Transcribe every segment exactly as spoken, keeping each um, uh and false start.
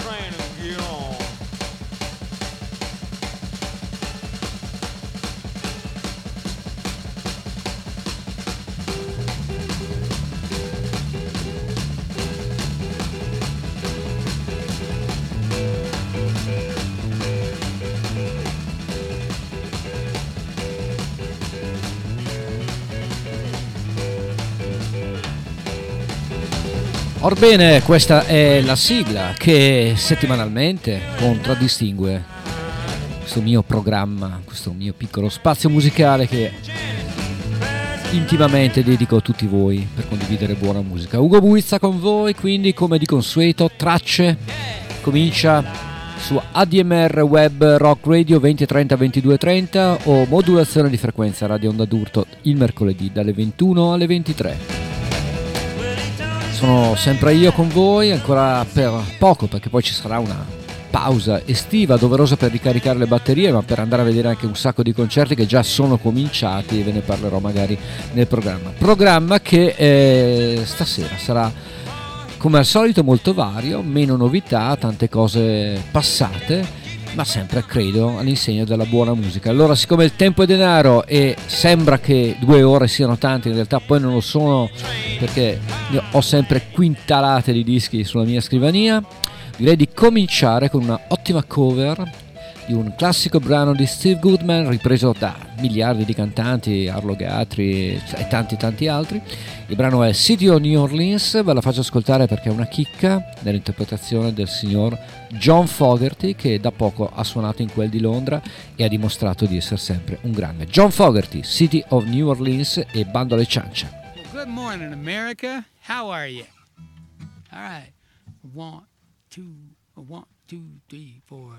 train and get on. Orbene, questa è la sigla che settimanalmente contraddistingue questo mio programma, questo mio piccolo spazio musicale che intimamente dedico a tutti voi per condividere buona musica. Ugo Buizza con voi, quindi come di consueto, tracce, comincia su A D M R Web Rock Radio venti trenta ventidue trenta o modulazione di frequenza Radio Onda d'Urto il mercoledì dalle ventuno alle ventitré. Sono sempre io con voi, ancora per poco perché poi ci sarà una pausa estiva doverosa per ricaricare le batterie, ma per andare a vedere anche un sacco di concerti che già sono cominciati e ve ne parlerò magari nel programma. Programma che eh, stasera sarà come al solito molto vario, meno novità, tante cose passate, ma sempre credo all'insegna della buona musica. Allora, siccome il tempo è denaro e sembra che due ore siano tante, in realtà poi non lo sono perché ho sempre quintalate di dischi sulla mia scrivania, direi di cominciare con una ottima cover di un classico brano di Steve Goodman ripreso da miliardi di cantanti, Arlo Guthrie e tanti tanti altri. Il brano è City of New Orleans, ve la faccio ascoltare perché è una chicca nell'interpretazione del signor John Fogerty, che da poco ha suonato in quel di Londra e ha dimostrato di essere sempre un grande. John Fogerty, City of New Orleans e bando alle ciance. Well, good morning, America. How are you? All right. One, two, one, two, three, four.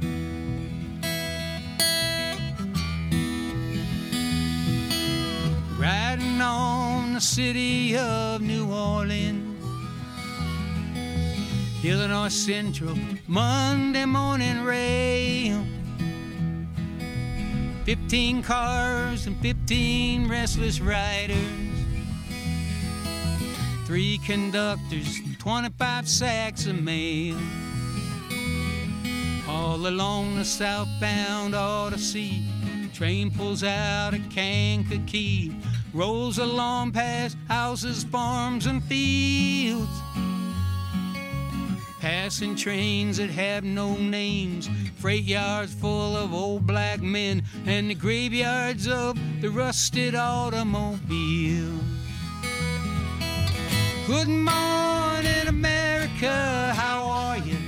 Riding on the city of New Orleans, Illinois Central, Monday morning rail. Fifteen cars and fifteen restless riders, three conductors, twenty-five sacks of mail. All along the southbound Odyssey, train pulls out at Kankakee, rolls along past houses, farms, and fields, passing trains that have no names, freight yards full of old black men, and the graveyards of the rusted automobiles. Good morning, America, how are you?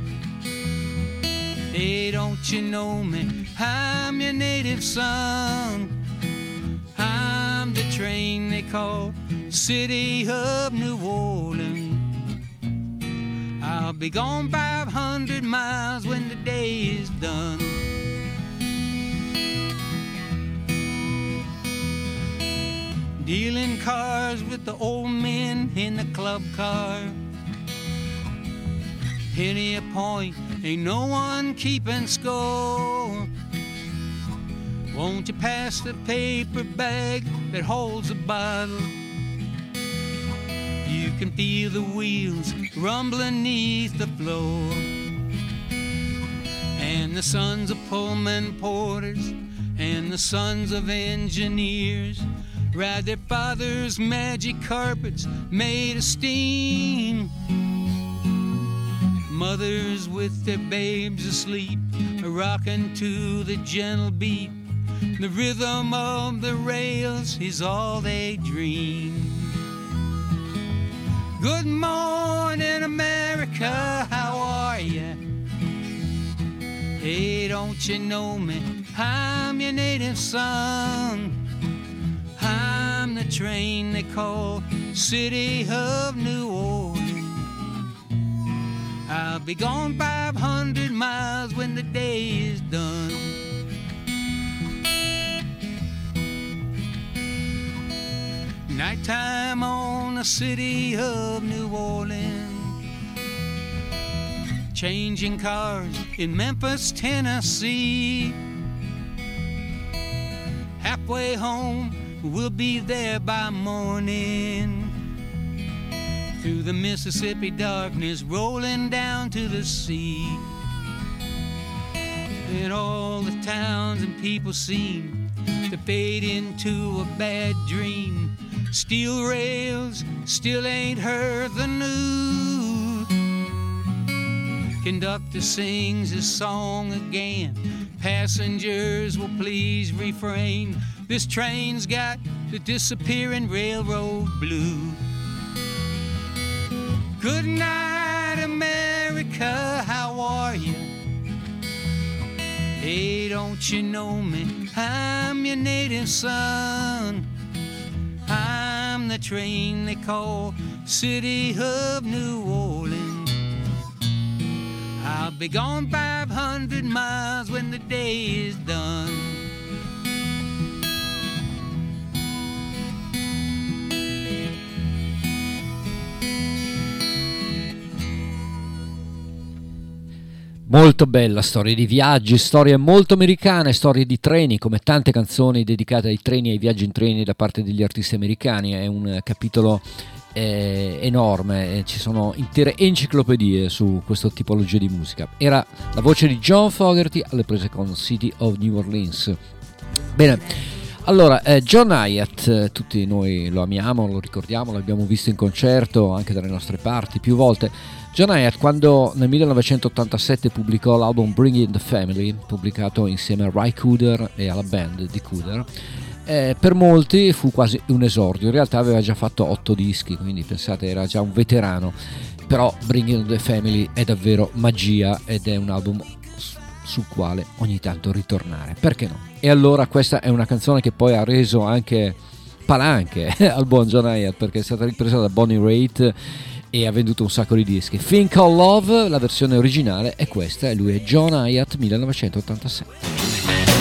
Hey, don't you know me? I'm your native son. I'm the train they call City of New Orleans. I'll be gone five hundred miles when the day is done. Dealing cars with the old men in the club car. Penny a point, ain't no one keeping score. Won't you pass the paper bag that holds a bottle? You can feel the wheels rumbling beneath the floor. And the sons of Pullman porters and the sons of engineers ride their father's magic carpets made of steam. Mothers with their babes asleep are rocking to the gentle beat. The rhythm of the rails is all they dream. Good morning, America, how are ya? Hey, don't you know me? I'm your native son. I'm the train they call City of New Orleans. I'll be gone five hundred miles when the day is done. Nighttime on the City of New Orleans, changing cars in Memphis, Tennessee. Halfway home, we'll be there by morning. through the Mississippi darkness, rolling down to the sea. And all the towns and people seem to fade into a bad dream. Steel rails still ain't heard the news. Conductor sings his song again. Passengers will please refrain. This train's got the disappearing railroad blues. Good night, America, how are you? Hey, don't you know me? I'm your native son. I'm the train they call City of New Orleans. I'll be gone five hundred miles when the day is done. Molto bella, storie di viaggi, storie molto americane, storie di treni, come tante canzoni dedicate ai treni e ai viaggi in treni da parte degli artisti americani. È un capitolo eh, enorme, ci sono intere enciclopedie su questa tipologia di musica. Era la voce di John Fogerty alle prese con City of New Orleans. Bene, allora eh, John Hiatt, eh, tutti noi lo amiamo, lo ricordiamo, l'abbiamo visto in concerto anche dalle nostre parti più volte. John Hiatt, quando nel millenovecentottantasette pubblicò l'album Bring In The Family, pubblicato insieme a Ry Cooder e alla band di Cooder, eh, per molti fu quasi un esordio. In realtà aveva già fatto otto dischi, quindi pensate, era già un veterano. Però Bring In The Family è davvero magia ed è un album sul quale ogni tanto ritornare, perché no? E allora questa è una canzone che poi ha reso anche palanche al buon John Hiatt, perché è stata ripresa da Bonnie Raitt e ha venduto un sacco di dischi. Think Called Love, la versione originale è questa, e lui è John Hiatt, millenovecentottantasette.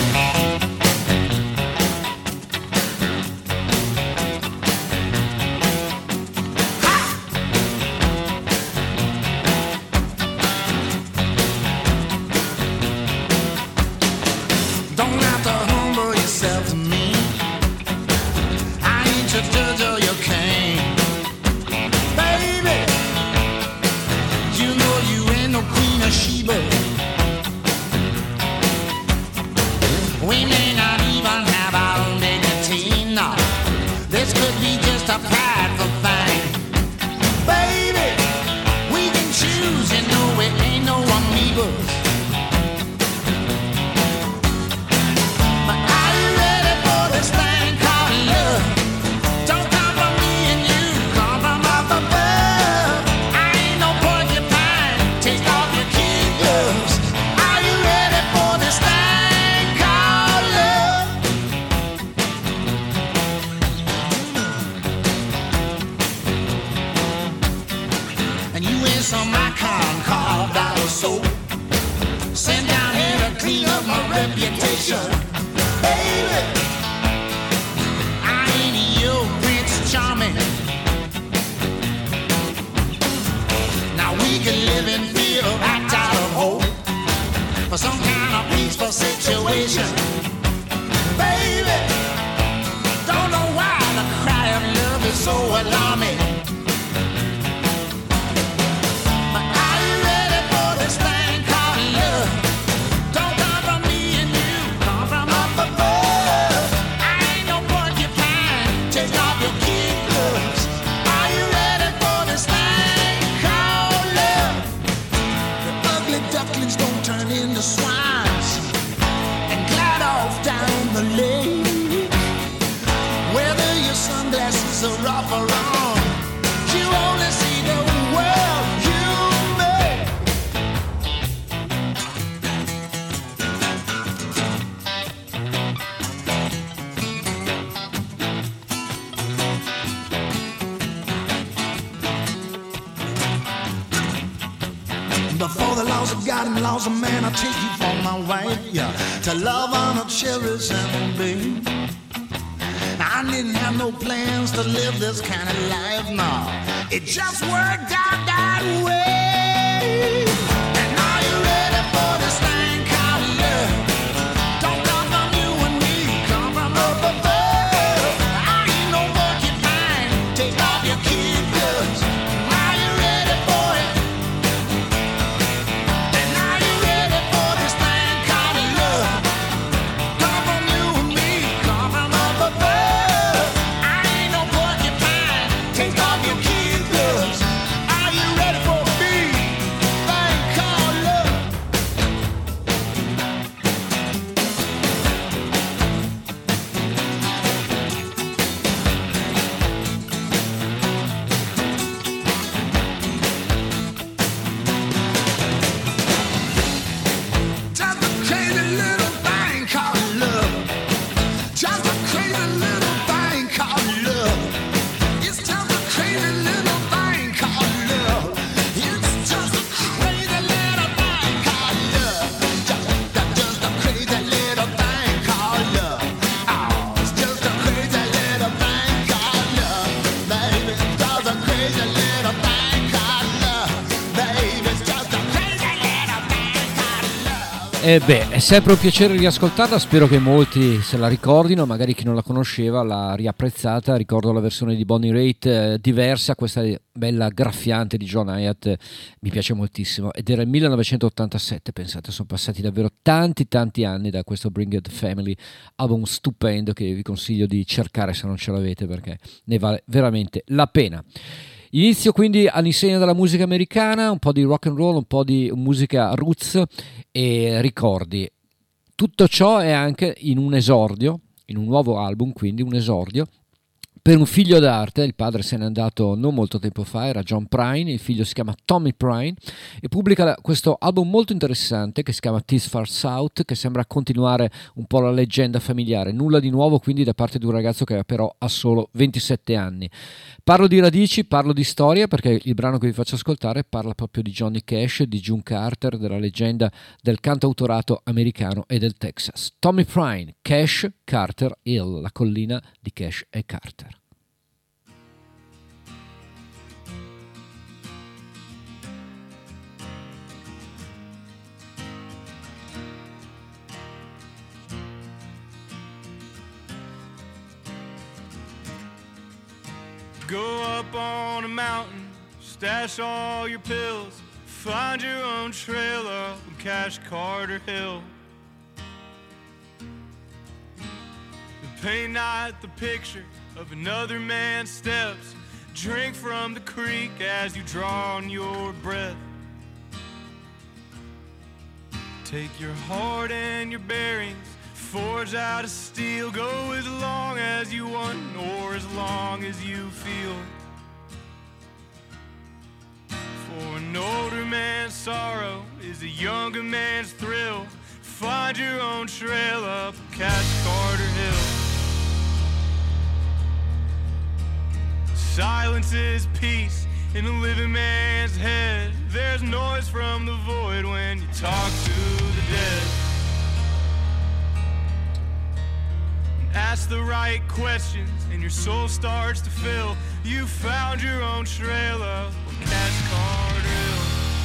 Before the laws of God and laws of man, I'll take you for my wife, yeah. To love, honor, cherish, and obey. I didn't have no plans to live this kind of life, no. It just worked out that way. And are you ready for this thing called love? Don't come from you and me, come from up above. I ain't no monkey fine, take off your kid gloves. I E beh, è sempre un piacere riascoltarla, spero che molti se la ricordino, magari chi non la conosceva l'ha riapprezzata. Ricordo la versione di Bonnie Raitt eh, diversa, questa bella graffiante di John Hiatt mi piace moltissimo, ed era il millenovecentottantasette, pensate, sono passati davvero tanti tanti anni da questo Bring It Family, album stupendo che vi consiglio di cercare se non ce l'avete, perché ne vale veramente la pena. Inizio quindi all'insegna della musica americana, un po' di rock and roll, un po' di musica roots e ricordi. Tutto ciò è anche in un esordio, in un nuovo album, quindi un esordio per un figlio d'arte. Il padre se n'è andato non molto tempo fa, era John Prine, il figlio si chiama Tommy Prine e pubblica questo album molto interessante che si chiama This Far South, che sembra continuare un po' la leggenda familiare. Nulla di nuovo quindi da parte di un ragazzo che però ha solo ventisette anni. Parlo di radici, parlo di storia, perché il brano che vi faccio ascoltare parla proprio di Johnny Cash, di June Carter, della leggenda del cantautorato americano e del Texas. Tommy Prine, Cash, Carter Hill, la collina di Cash e Carter. Go up on a mountain, stash all your pills, find your own trail up Cash Carter Hill. And paint not the picture of another man's steps, drink from the creek as you draw on your breath. Take your heart and your bearings, forge out of steel, go as long as you want or as long as you feel. For an older man's sorrow is a younger man's thrill. Find your own trail up Cash Carter Hill. Silence is peace in a living man's head. There's noise from the void when you talk to the dead. Ask the right questions and your soul starts to fill. You found your own trail up Cash Carter Hill.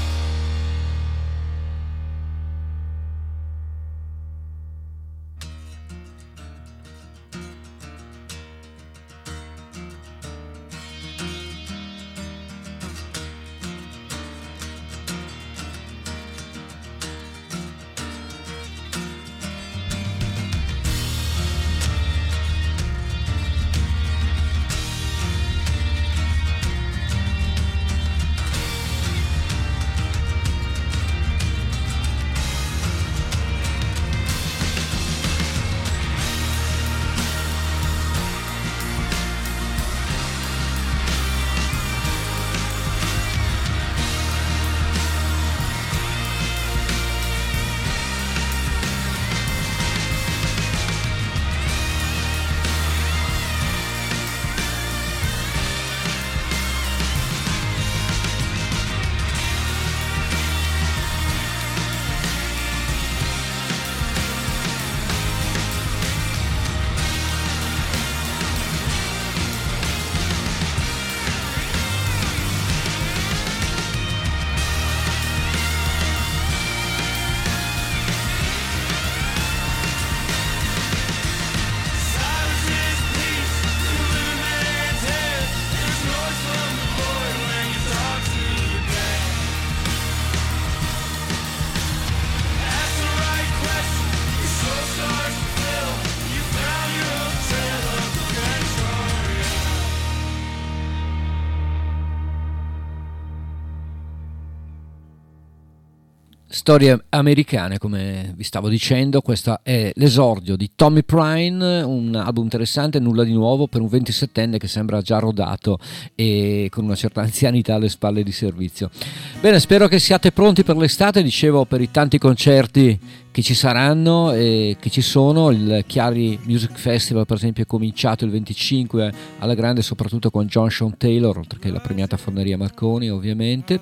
Storie americane, come vi stavo dicendo. Questo è l'esordio di Tommy Prine, un album interessante, nulla di nuovo per un ventisettenne che sembra già rodato e con una certa anzianità alle spalle di servizio. Bene, spero che siate pronti per l'estate, dicevo, per i tanti concerti che ci saranno e che ci sono. Il Chiari Music Festival per esempio è cominciato il venticinque alla grande, soprattutto con John Sean Taylor, oltre che la premiata Forneria Marconi ovviamente,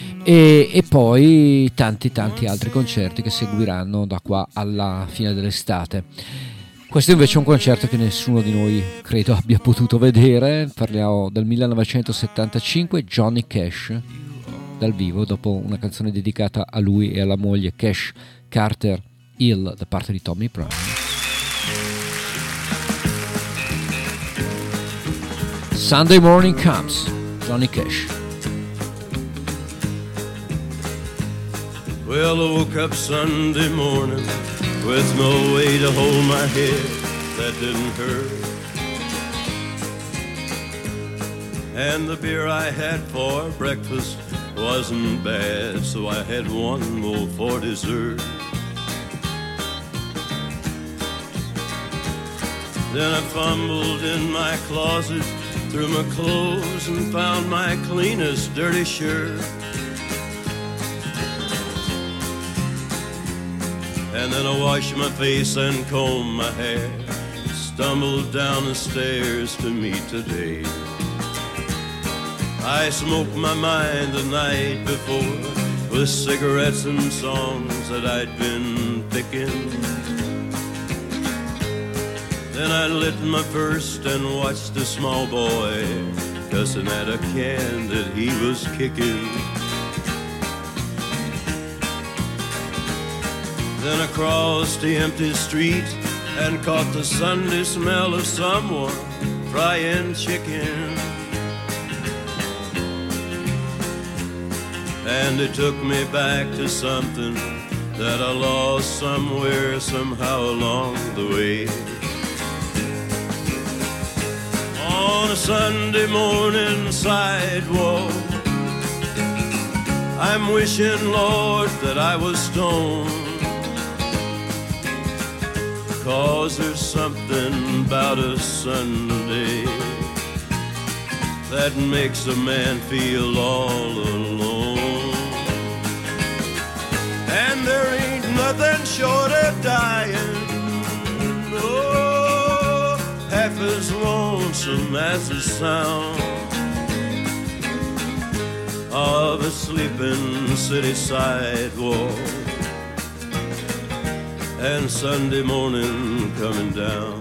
e, e poi tanti tanti altri concerti che seguiranno da qua alla fine dell'estate. Questo invece è un concerto che nessuno di noi credo abbia potuto vedere. Parliamo del millenovecentosettantacinque, Johnny Cash, dal vivo dopo una canzone dedicata a lui e alla moglie Cash Carter Hill da parte di Tommy Brown. Sunday Morning Comes, Johnny Cash. Well, I woke up Sunday morning with no way to hold my head that didn't hurt. And the beer I had for breakfast wasn't bad, so I had one more for dessert. Then I fumbled in my closet, threw my clothes and found my cleanest dirty shirt. And then I washed my face and combed my hair, stumbled down the stairs to meet today. I smoked my mind the night before with cigarettes and songs that I'd been picking. Then I lit my first and watched a small boy cussing at a can that he was kicking. Then I crossed the empty street and caught the Sunday smell of someone frying chicken. And it took me back to something that I lost somewhere, somehow along the way. On a Sunday morning sidewalk, I'm wishing, Lord, that I was stoned. 'Cause there's something about a Sunday that makes a man feel all alone. And there ain't nothing short of dying, oh, half as lonesome as the sound of a sleeping city sidewalk and Sunday morning coming down.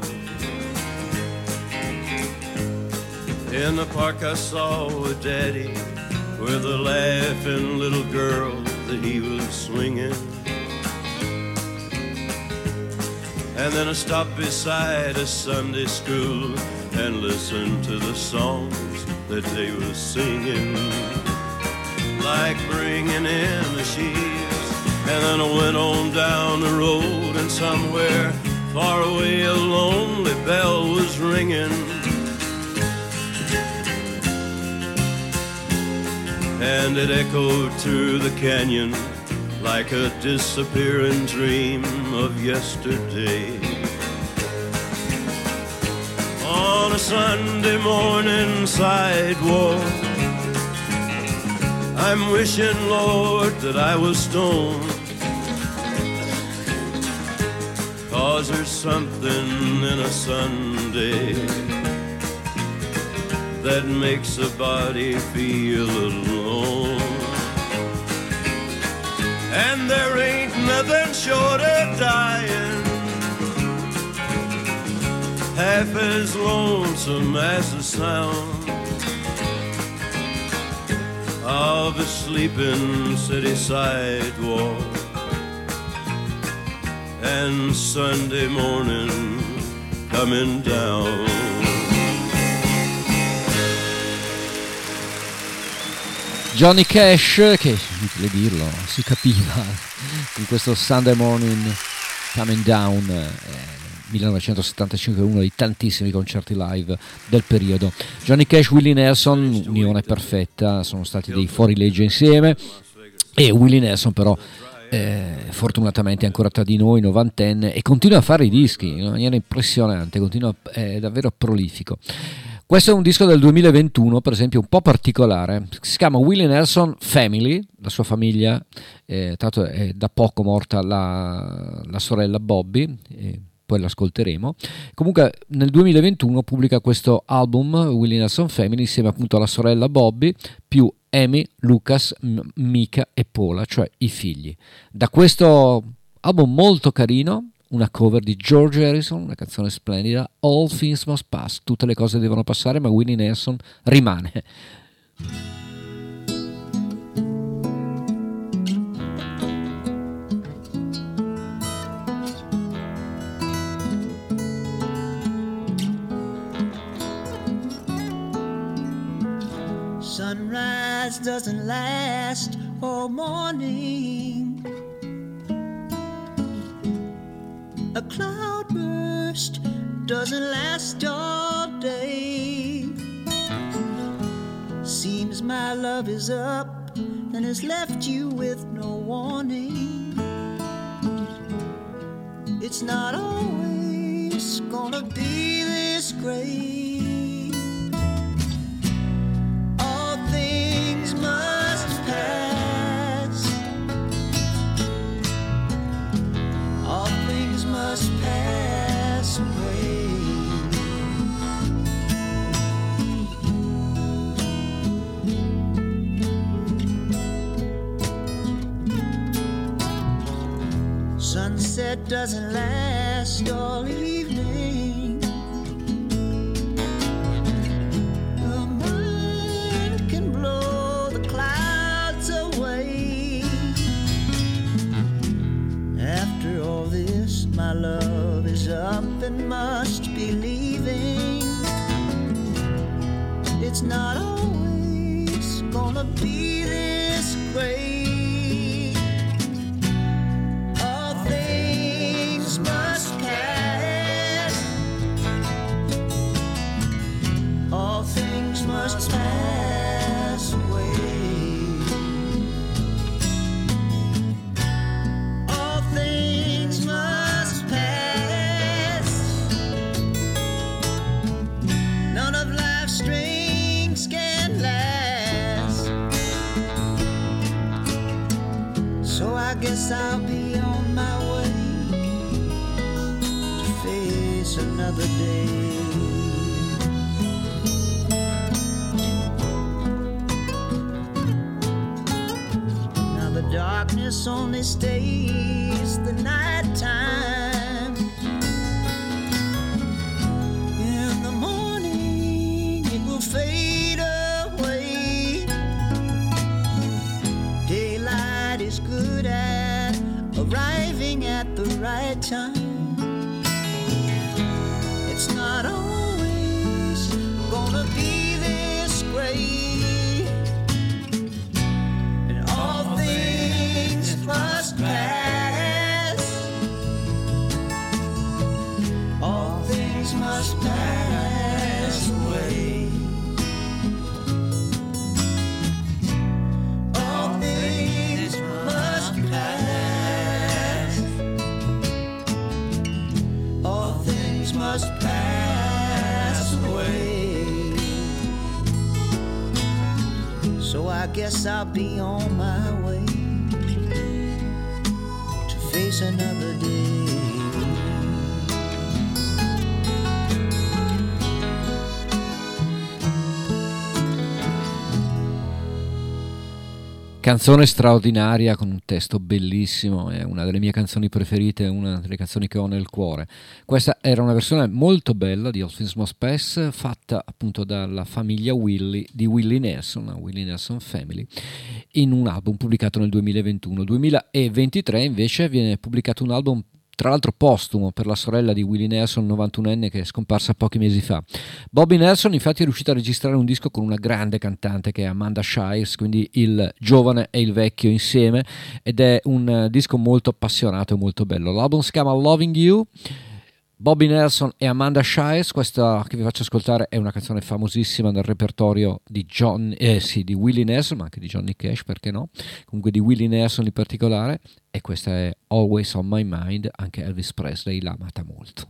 In the park I saw a daddy with a laughing little girl that he was swinging. And then I stopped beside a Sunday school and listened to the songs that they were singing, like bringing in the sheaves. And then I went on down the road, and somewhere far away a lonely bell was ringing. And it echoed through the canyon like a disappearing dream of yesterday. On a Sunday morning sidewalk, I'm wishing, Lord, that I was stoned. 'Cause there's something in a Sunday that makes a body feel alone. And there ain't nothing short of dying, half as lonesome as the sound of a sleeping city sidewalk and Sunday morning coming down. Johnny Cash, che inutile dirlo, si capiva con questo Sunday Morning Coming Down, eh, millenovecentosettantacinque, uno dei tantissimi concerti live del periodo. Johnny Cash, Willie Nelson, unione perfetta, sono stati dei fuorilegge insieme, e Willie Nelson però eh, fortunatamente è ancora tra di noi, novantenne, e continua a fare i dischi in una maniera impressionante, continua, è davvero prolifico. Questo è un disco del duemilaventuno, per esempio, un po' particolare. Si chiama Willie Nelson Family, la sua famiglia, eh, tanto è da poco morta la, la sorella Bobby, eh, poi l'ascolteremo. Comunque nel duemilaventuno pubblica questo album, Willie Nelson Family, insieme appunto alla sorella Bobby, più Amy, Lucas, M- Mika e Paula, cioè i figli. Da questo album molto carino, una cover di George Harrison, una canzone splendida, All Things Must Pass, tutte le cose devono passare, ma Willie Nelson rimane. doesn't last all morning. A cloudburst doesn't last all day. Seems my love is up and has left you with no warning. It's not always gonna be this great. All things must pass. All things must pass away. Sunset doesn't last all evening. The wind can blow the clouds away. After all this, my love is up and must be leaving. It's not always gonna be this great. Must pass. All things must pass away. All things must pass. None of life's strings can last. So I guess I'll be on my way. Another day. Now the darkness only stays the night time. In the morning it will fade away. Daylight is good at arriving at the right time. It's not always gonna be this great. And all things must pass. All things must pass away. All things must pass. All things must pass away. So I guess I'll be on my way to face another day. Canzone straordinaria con un testo bellissimo, è una delle mie canzoni preferite, una delle canzoni che ho nel cuore. Questa era una versione molto bella di All Things Must Pass, fatta appunto dalla famiglia Willie di Willie Nelson, la Willie Nelson Family, in un album pubblicato nel duemilaventuno. duemilaventitré invece viene pubblicato un album tra l'altro postumo per la sorella di Willie Nelson, novantunenne, che è scomparsa pochi mesi fa. Bobby Nelson infatti è riuscito a registrare un disco con una grande cantante che è Amanda Shires, quindi il giovane e il vecchio insieme, ed è un disco molto appassionato e molto bello. L'album si chiama Loving You. Bobby Nelson e Amanda Shires, questa che vi faccio ascoltare è una canzone famosissima nel repertorio di, John, eh, sì, di Willie Nelson, ma anche di Johnny Cash, perché no? Comunque di Willie Nelson in particolare, e questa è Always on My Mind, anche Elvis Presley l'ha amata molto.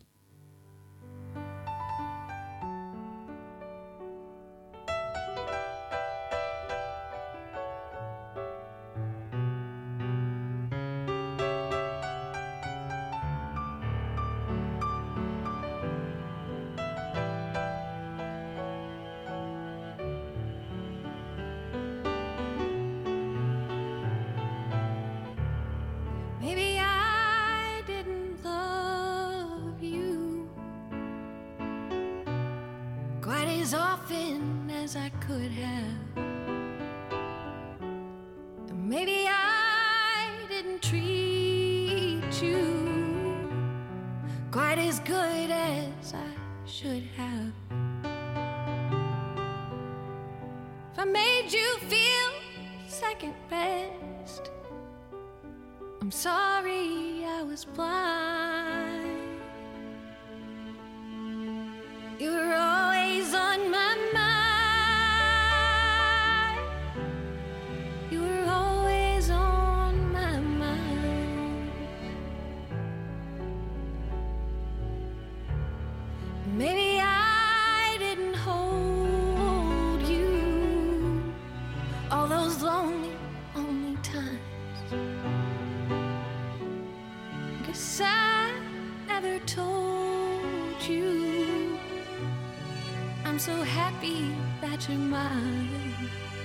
Maybe I didn't love you quite as often as I could have. Maybe I didn't treat you quite as good as I should have. If I made you feel second best. I'm sorry I was blind. You were always on my mind. You were always on my mind. Maybe I didn't hold you all those lonely, lonely times. Guess I never told you I'm so happy that you're mine.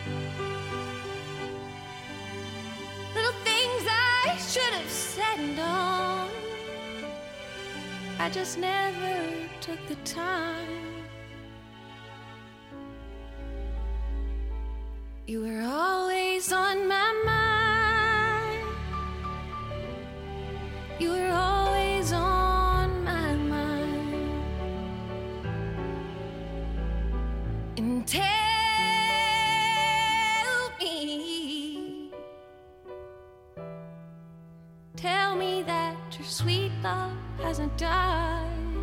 Little things I should have said and done, I just never took the time. You were always on my mind. You were always on my mind. And tell me, tell me that your sweet love hasn't died.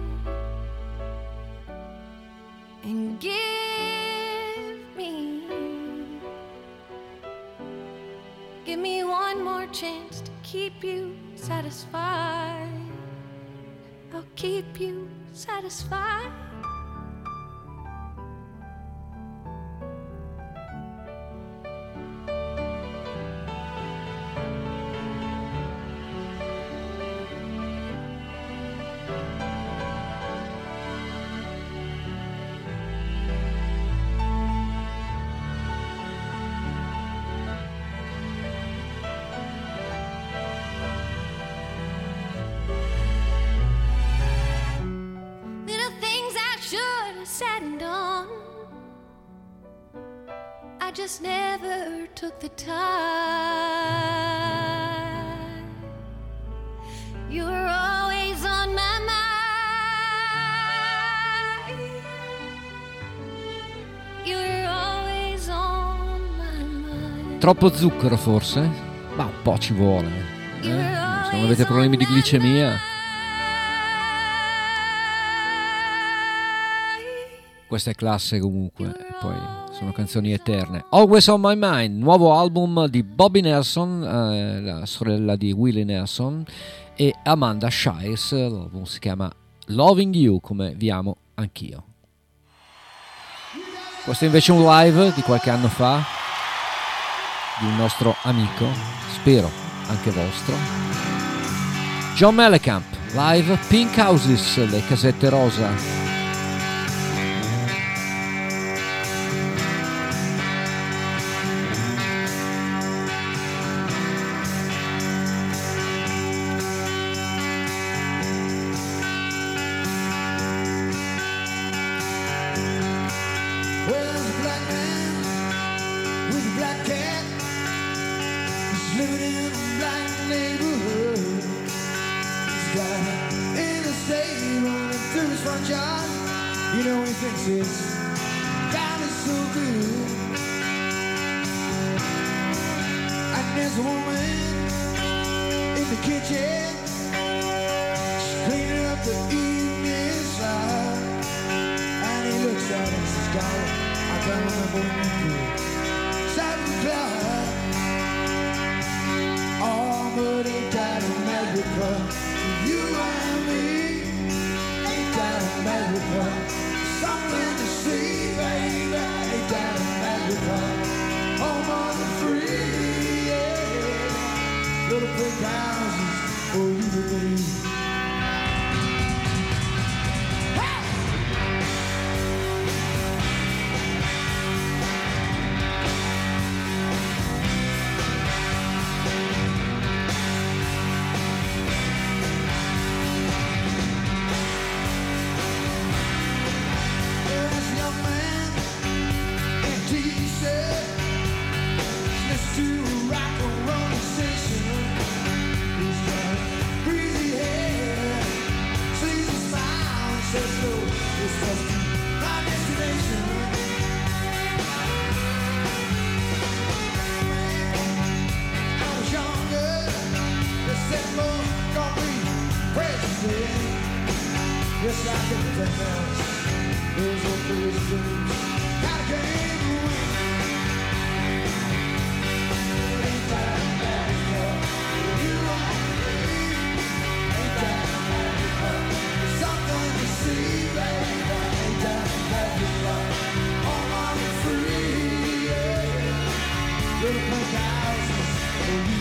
And give me, give me one more chance to keep you satisfied. I'll keep you satisfied. Just never took the time. You were always on my mind. You were always on my mind. Troppo zucchero forse? Ma un po' ci vuole. Eh? Se non avete problemi di glicemia. Questa è classe comunque, e poi sono canzoni eterne. Always on My Mind, nuovo album di Bobby Nelson, eh, la sorella di Willie Nelson, e Amanda Shires. L'album si chiama Loving You, come vi amo anch'io. Questo invece è un live di qualche anno fa di un nostro amico, spero anche vostro, John Mellencamp, live Pink Houses, le casette rosa. To rock and roll station, just like everything else. Those old foolish dreams, gotta gain the wind. Ain't that magical? You are free. Ain't that magical? There's something to see, baby. Ain't that magical? Oh, I'm free, yeah. Little pink houses for you.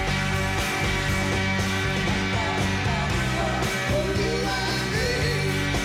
Oh, you and me.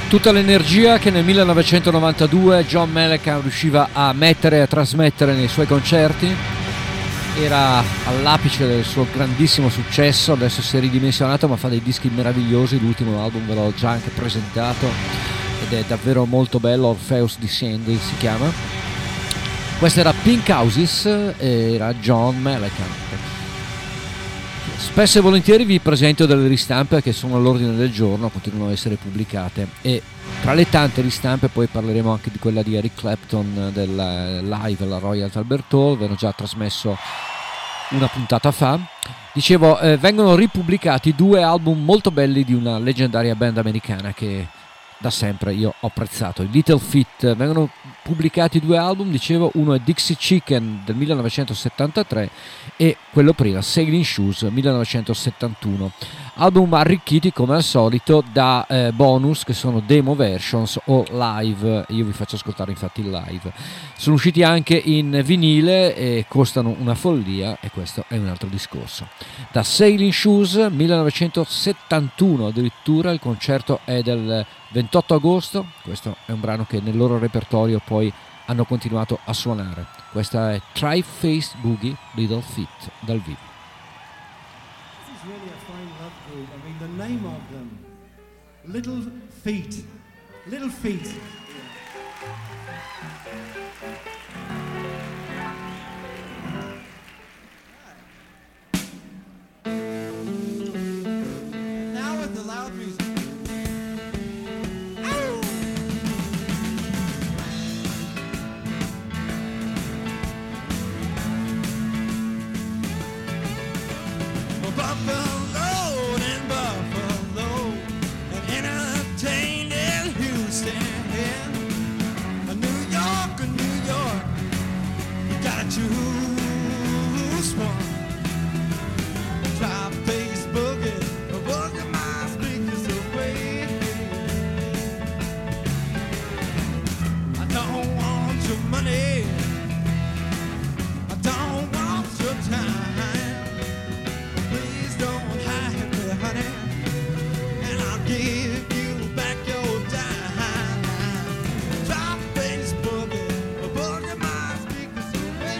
Tutta l'energia che nel millenovecentonovantadue John Mellencamp riusciva a mettere e a trasmettere nei suoi concerti era all'apice del suo grandissimo successo. Adesso si è ridimensionato, ma fa dei dischi meravigliosi. L'ultimo album ve l'ho già anche presentato ed è davvero molto bello, Orpheus Descending si chiama. Questo era Pink Houses e era John Mellencamp. Spesso e volentieri vi presento delle ristampe che sono all'ordine del giorno, continuano a essere pubblicate, e tra le tante ristampe poi parleremo anche di quella di Eric Clapton del live alla Royal Albert Hall. Ve l'ho già trasmesso una puntata fa. Dicevo, eh, vengono ripubblicati due album molto belli di una leggendaria band americana che da sempre io ho apprezzato, i Little Feat. Vengono pubblicati due album, dicevo, uno è Dixie Chicken del millenovecentosettantatré e quello prima, Sailing Shoes millenovecentosettantuno, album arricchiti come al solito da eh, bonus che sono demo versions o live. Io vi faccio ascoltare infatti il live. Sono usciti anche in vinile e costano una follia, e questo è un altro discorso. Da Sailing Shoes millenovecentosettantuno addirittura, il concerto è del ventotto agosto. Questo è un brano che nel loro repertorio poi hanno continuato a suonare. Questa è Tri-Faced Boogie Little Feat dal vivo. This is really a fine love group. I mean, the name of them, Little Feat, Little Feat. Now with the loud music. Buffalo and Buffalo, and entertained in Houston, New York, New York. You gotta choose one. Tri-Faced Boogie, boogie my speakers away. I don't want your money, I don't want your time. Don't hide me, honey, and I'll give you back your dime. Tri-Faced Boogie, boogie my speakers away.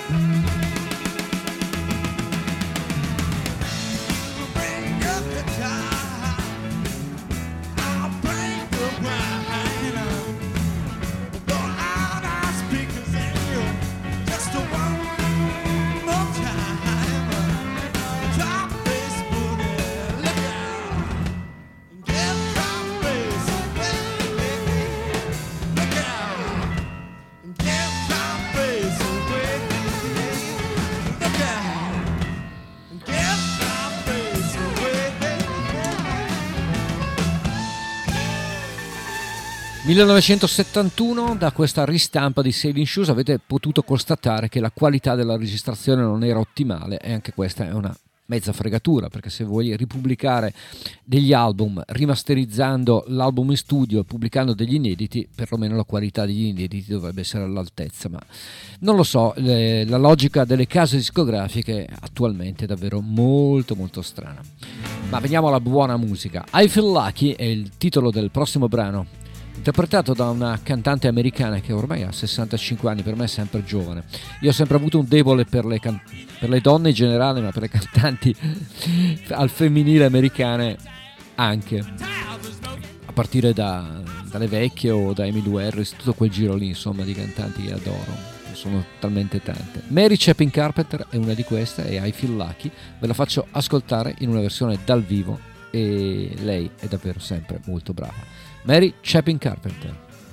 millenovecentosettantuno, da questa ristampa di Sailing Shoes avete potuto constatare che la qualità della registrazione non era ottimale, e anche questa è una mezza fregatura, perché se vuoi ripubblicare degli album rimasterizzando l'album in studio e pubblicando degli inediti, perlomeno la qualità degli inediti dovrebbe essere all'altezza, ma non lo so, le, la logica delle case discografiche attualmente è davvero molto molto strana. Ma veniamo alla buona musica. I Feel Lucky è il titolo del prossimo brano, interpretato da una cantante americana che ormai ha sessantacinque anni, per me è sempre giovane. Io ho sempre avuto un debole per le, can- per le donne in generale, ma per le cantanti al femminile americane anche, a partire da, dalle vecchie o da Emmylou Harris, tutto quel giro lì, insomma, di cantanti che adoro, sono talmente tante. Mary Chapin Carpenter è una di queste, e I Feel Lucky ve la faccio ascoltare in una versione dal vivo, e lei è davvero sempre molto brava. Mary Chapin Carpenter.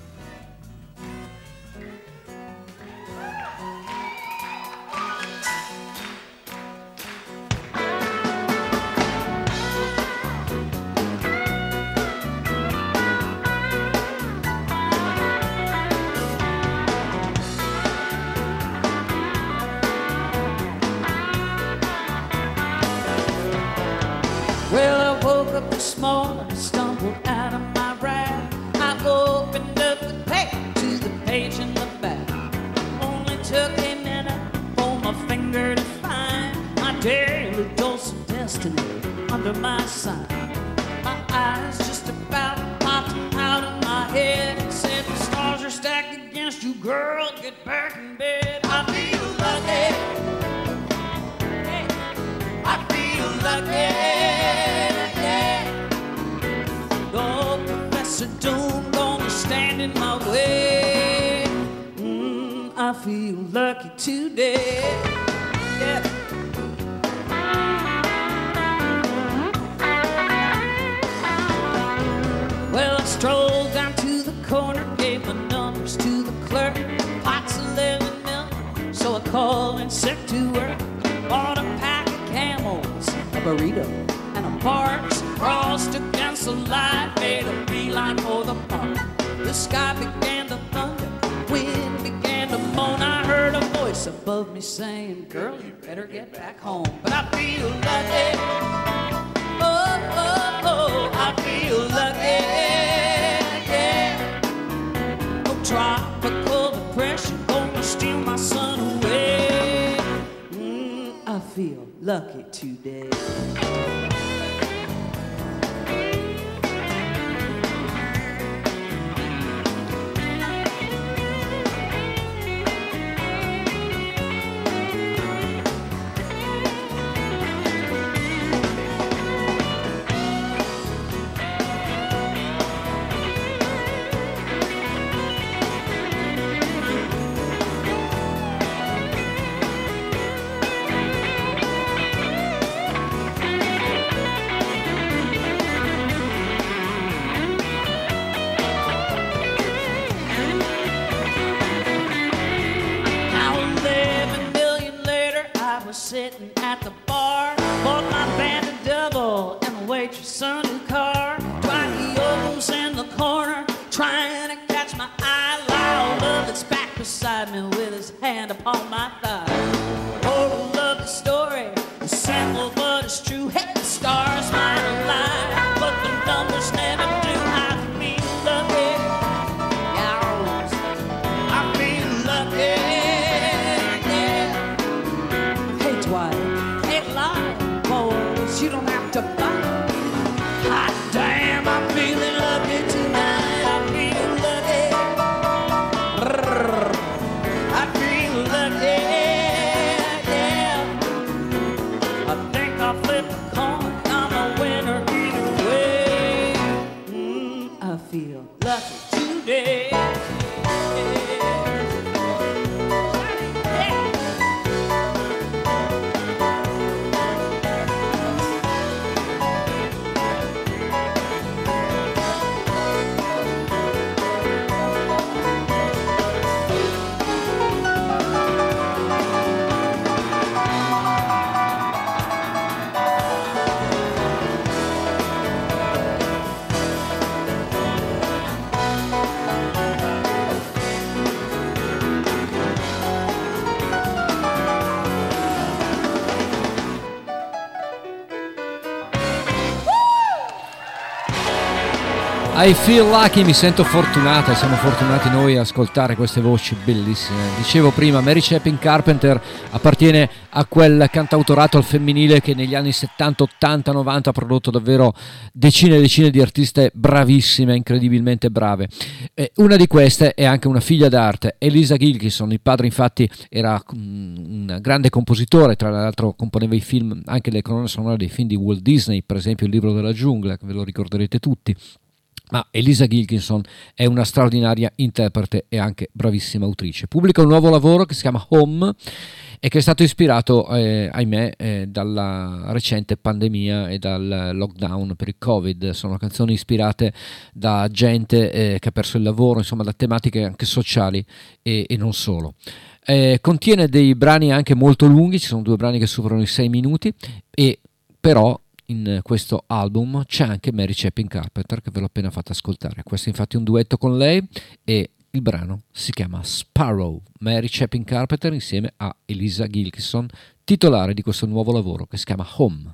Well, I woke up this morning, stumbled out of my ride. I opened up the page to the page in the back. Only took a minute for my finger to find my daily dose of destiny under my sign. My eyes just about popped out of my head. Said the stars are stacked against you, girl, get back in bed. I feel lucky. Hey, I feel lucky. Professor Doom gonna stand in my way. Mm, I feel lucky today. Yeah. Well, I strolled down to the corner, gave my numbers to the clerk. Pots eleven million, so I called and said to her. Bought a pack of Camels, a burrito, and a Parks. Crossed against the light, made a beeline for the park. The sky began to thunder, wind began to moan. I heard a voice above me saying, girl, you better get back home. But I feel lucky. Oh, oh, oh, I feel lucky. Yeah. No tropical depression gonna steal my sun away. Mm, I feel lucky today. Sitting at the bar, bought my band a double and the waitress a new car. Twenty-O's in the corner, trying to catch my eye. Loud love that's back beside me with his hand upon my thigh. Oh, love the story, it's simple but it's true. Hey, the stars might align, but the numbers never do. I feel lucky, yeah, I feel lucky. You don't have to fight. Hot damn, I'm feeling lucky tonight. I feel lucky. I feel lucky. I feel lucky, mi sento fortunata, siamo fortunati noi a ascoltare queste voci bellissime. Dicevo prima, Mary Chapin Carpenter appartiene a quel cantautorato al femminile che negli anni settanta, ottanta, novanta ha prodotto davvero decine e decine di artiste bravissime, incredibilmente brave. Eh, una di queste è anche una figlia d'arte, Elisa Gilkyson. Il padre infatti era un grande compositore, tra l'altro componeva i film, anche le colonne sonore dei film di Walt Disney, per esempio Il libro della giungla, che ve lo ricorderete tutti. Ma Elisa Gilkyson è una straordinaria interprete e anche bravissima autrice. Pubblica un nuovo lavoro che si chiama Home e che è stato ispirato, eh, ahimè, eh, dalla recente pandemia e dal lockdown per il Covid. Sono canzoni ispirate da gente eh, che ha perso il lavoro, insomma da tematiche anche sociali e, e non solo. Eh, contiene dei brani anche molto lunghi, ci sono due brani che superano i sei minuti, e però in questo album c'è anche Mary Chapin Carpenter, che ve l'ho appena fatto ascoltare. Questo è infatti un duetto con lei e il brano si chiama Sparrow. Mary Chapin Carpenter insieme a Elisa Gilkyson, titolare di questo nuovo lavoro che si chiama Home.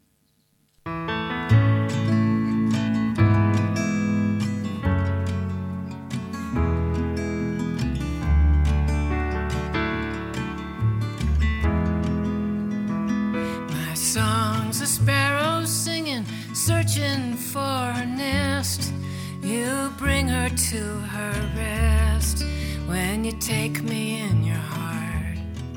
My song's a sparrow singing, searching for her nest. You bring her to her rest when you take me in your heart.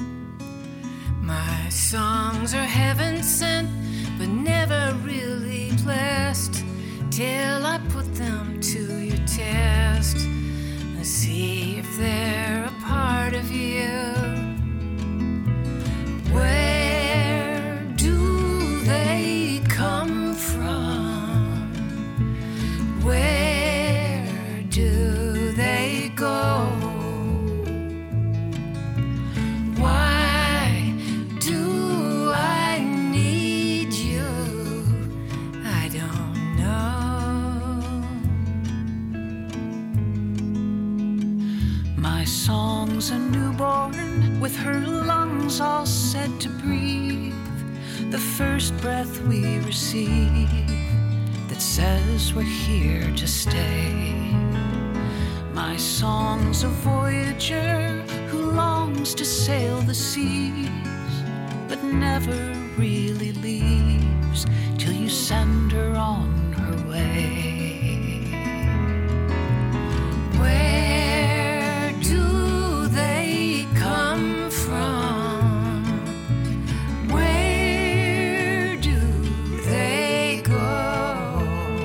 My songs are heaven sent, but never really blessed, till I put them to your test and see if they're a part of you. Where do they come from? Where do they go? Why do I need you? I don't know. My song's a newborn with her lungs all set to breathe, the first breath we receive that says we're here to stay. My song's a voyager who longs to sail the seas, but never really leaves till you send her on her way. Where do they come from? Where do they go?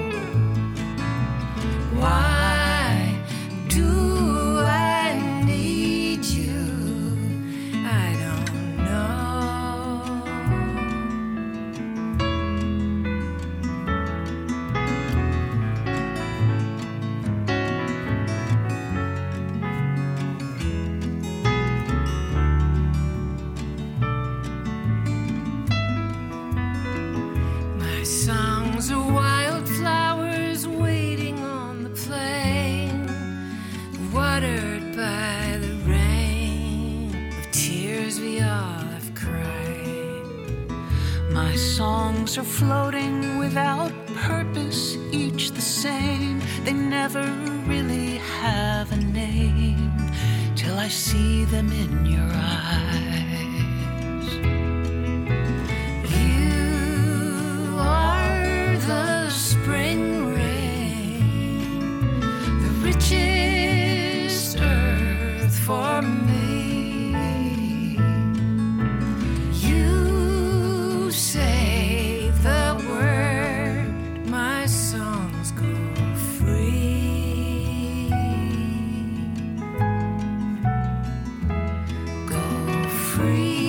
Why do I need you? I don't know. My songs are wildflowers waiting on the plain, watered by the rain of tears we all have cried. My songs are floating without purpose, each the same. They never really have a name till I see them in your eyes. You are the spring rain, the richest earth for me. You say the word, my songs go free. Go free.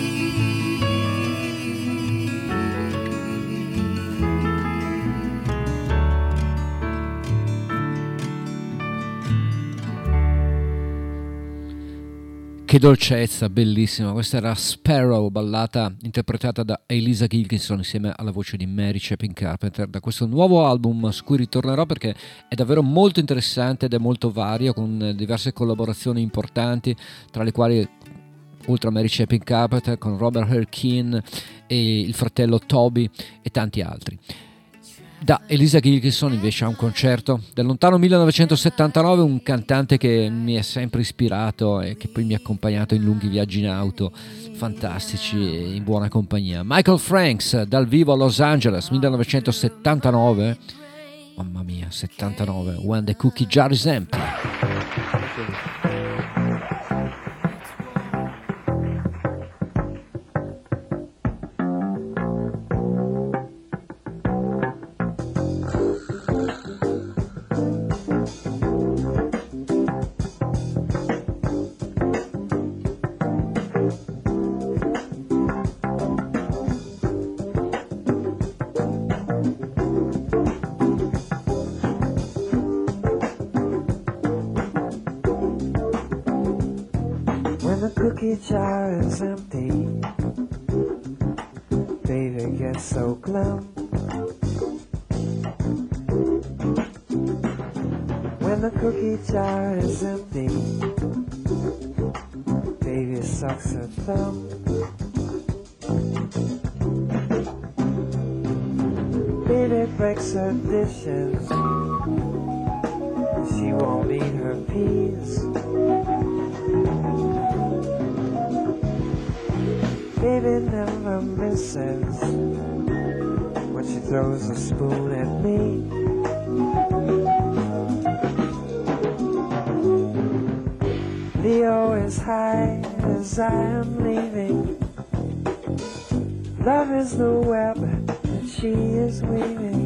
Che dolcezza, bellissima. Questa era Sparrow, ballata interpretata da Elisa Gilkyson insieme alla voce di Mary Chapin Carpenter, da questo nuovo album su cui ritornerò perché è davvero molto interessante ed è molto vario, con diverse collaborazioni importanti, tra le quali, oltre a Mary Chapin Carpenter, con Robert Earl Keen e il fratello Toby e tanti altri. Da Elisa Gilkison invece a un concerto del lontano millenovecentosettantanove, un cantante che mi è sempre ispirato e che poi mi ha accompagnato in lunghi viaggi in auto fantastici e in buona compagnia. Michael Franks dal vivo a Los Angeles millenovecentosettantanove, mamma mia, settantanove, When the Cookie Jar is Empty. Jar is empty, baby gets so glum. When the cookie jar is empty, baby sucks her thumb. Baby breaks her dishes, she won't eat her peas. Baby never misses when she throws a spoon at me. Leo is high as I am leaving. Love is the web that she is weaving.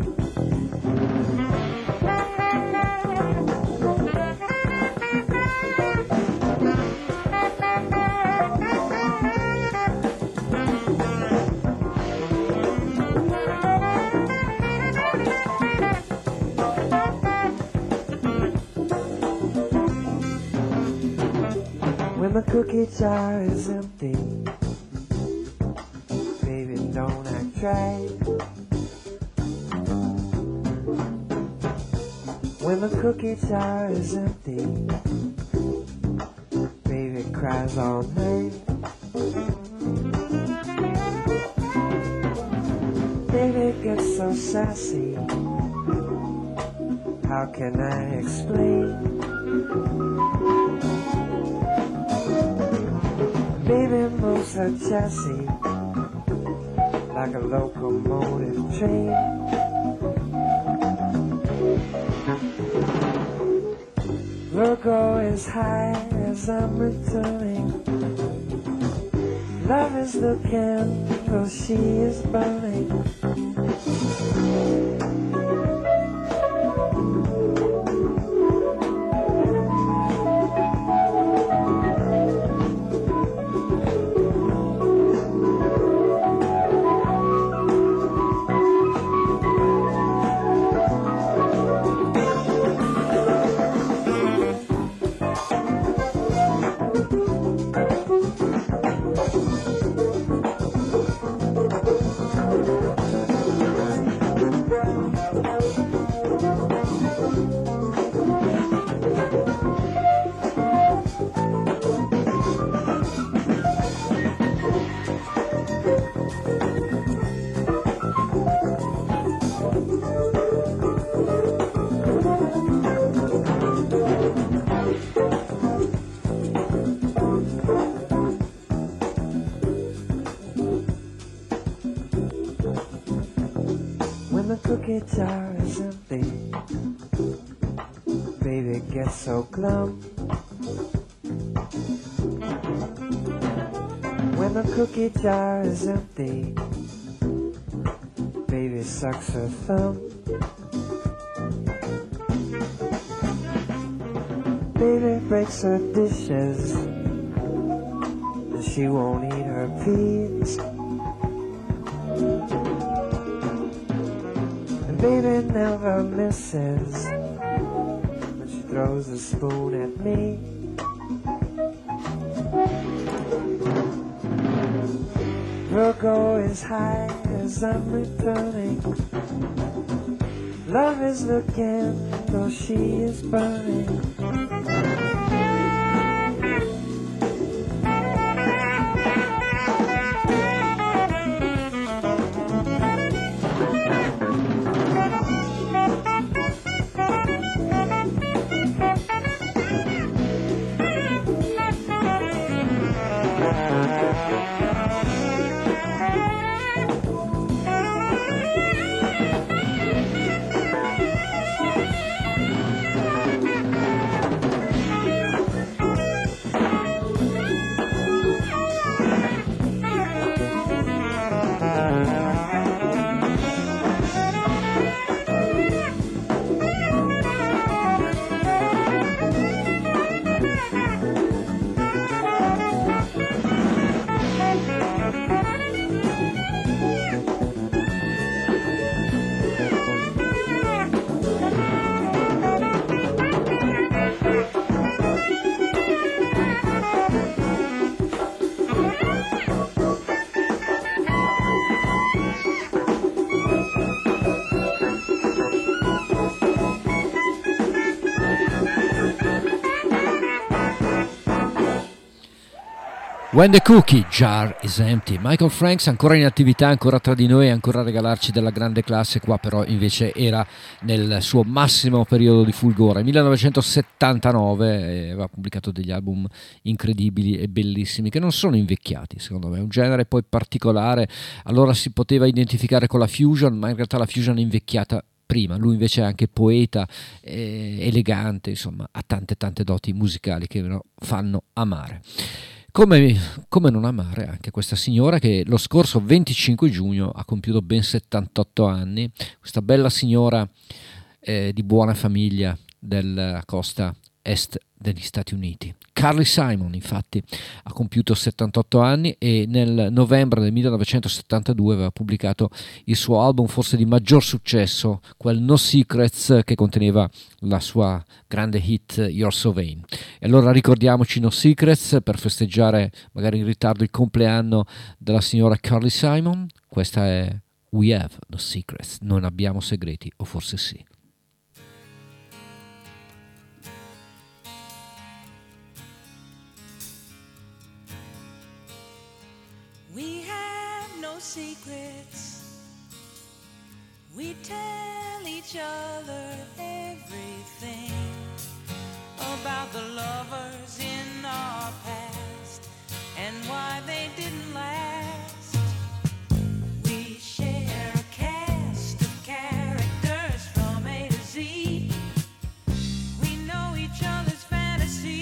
The cookie jar is empty, baby don't act right. When the cookie jar is empty, baby cries all night. Baby gets so sassy, how can I explain? Baby moves her chassis like a locomotive train. Virgo is high as I'm returning. Love is the candle she is burning. Cookie jar is empty, baby gets so glum. When the cookie jar is empty, baby sucks her thumb. Baby breaks her dishes, and she won't eat her peas. Baby never misses when she throws a spoon at me. Virgo is high as I'm returning. Love is the candle she is burning. When the cookie jar is empty. Michael Franks ancora in attività, ancora tra di noi, ancora a regalarci della grande classe. Qua però invece era nel suo massimo periodo di fulgore, millenovecentosettantanove, aveva pubblicato degli album incredibili e bellissimi che non sono invecchiati, secondo me. Un genere poi particolare, allora si poteva identificare con la fusion, ma in realtà la fusion è invecchiata prima. Lui invece è anche poeta, eh, elegante, insomma ha tante tante doti musicali che lo fanno amare. Come, come non amare anche questa signora che lo scorso venticinque giugno ha compiuto ben settantotto anni, questa bella signora eh, di buona famiglia della costa est degli Stati Uniti. Carly Simon infatti ha compiuto settantotto anni e nel novembre del millenovecentosettantadue aveva pubblicato il suo album forse di maggior successo, quel No Secrets, che conteneva la sua grande hit You're So Vain. E allora ricordiamoci No Secrets per festeggiare magari in ritardo il compleanno della signora Carly Simon. Questa è We Have No Secrets, non abbiamo segreti, o forse sì. We have no secrets. We tell each other everything about the lovers in our past and why they didn't last. We share a cast of characters from A to Z. We know each other's fantasies.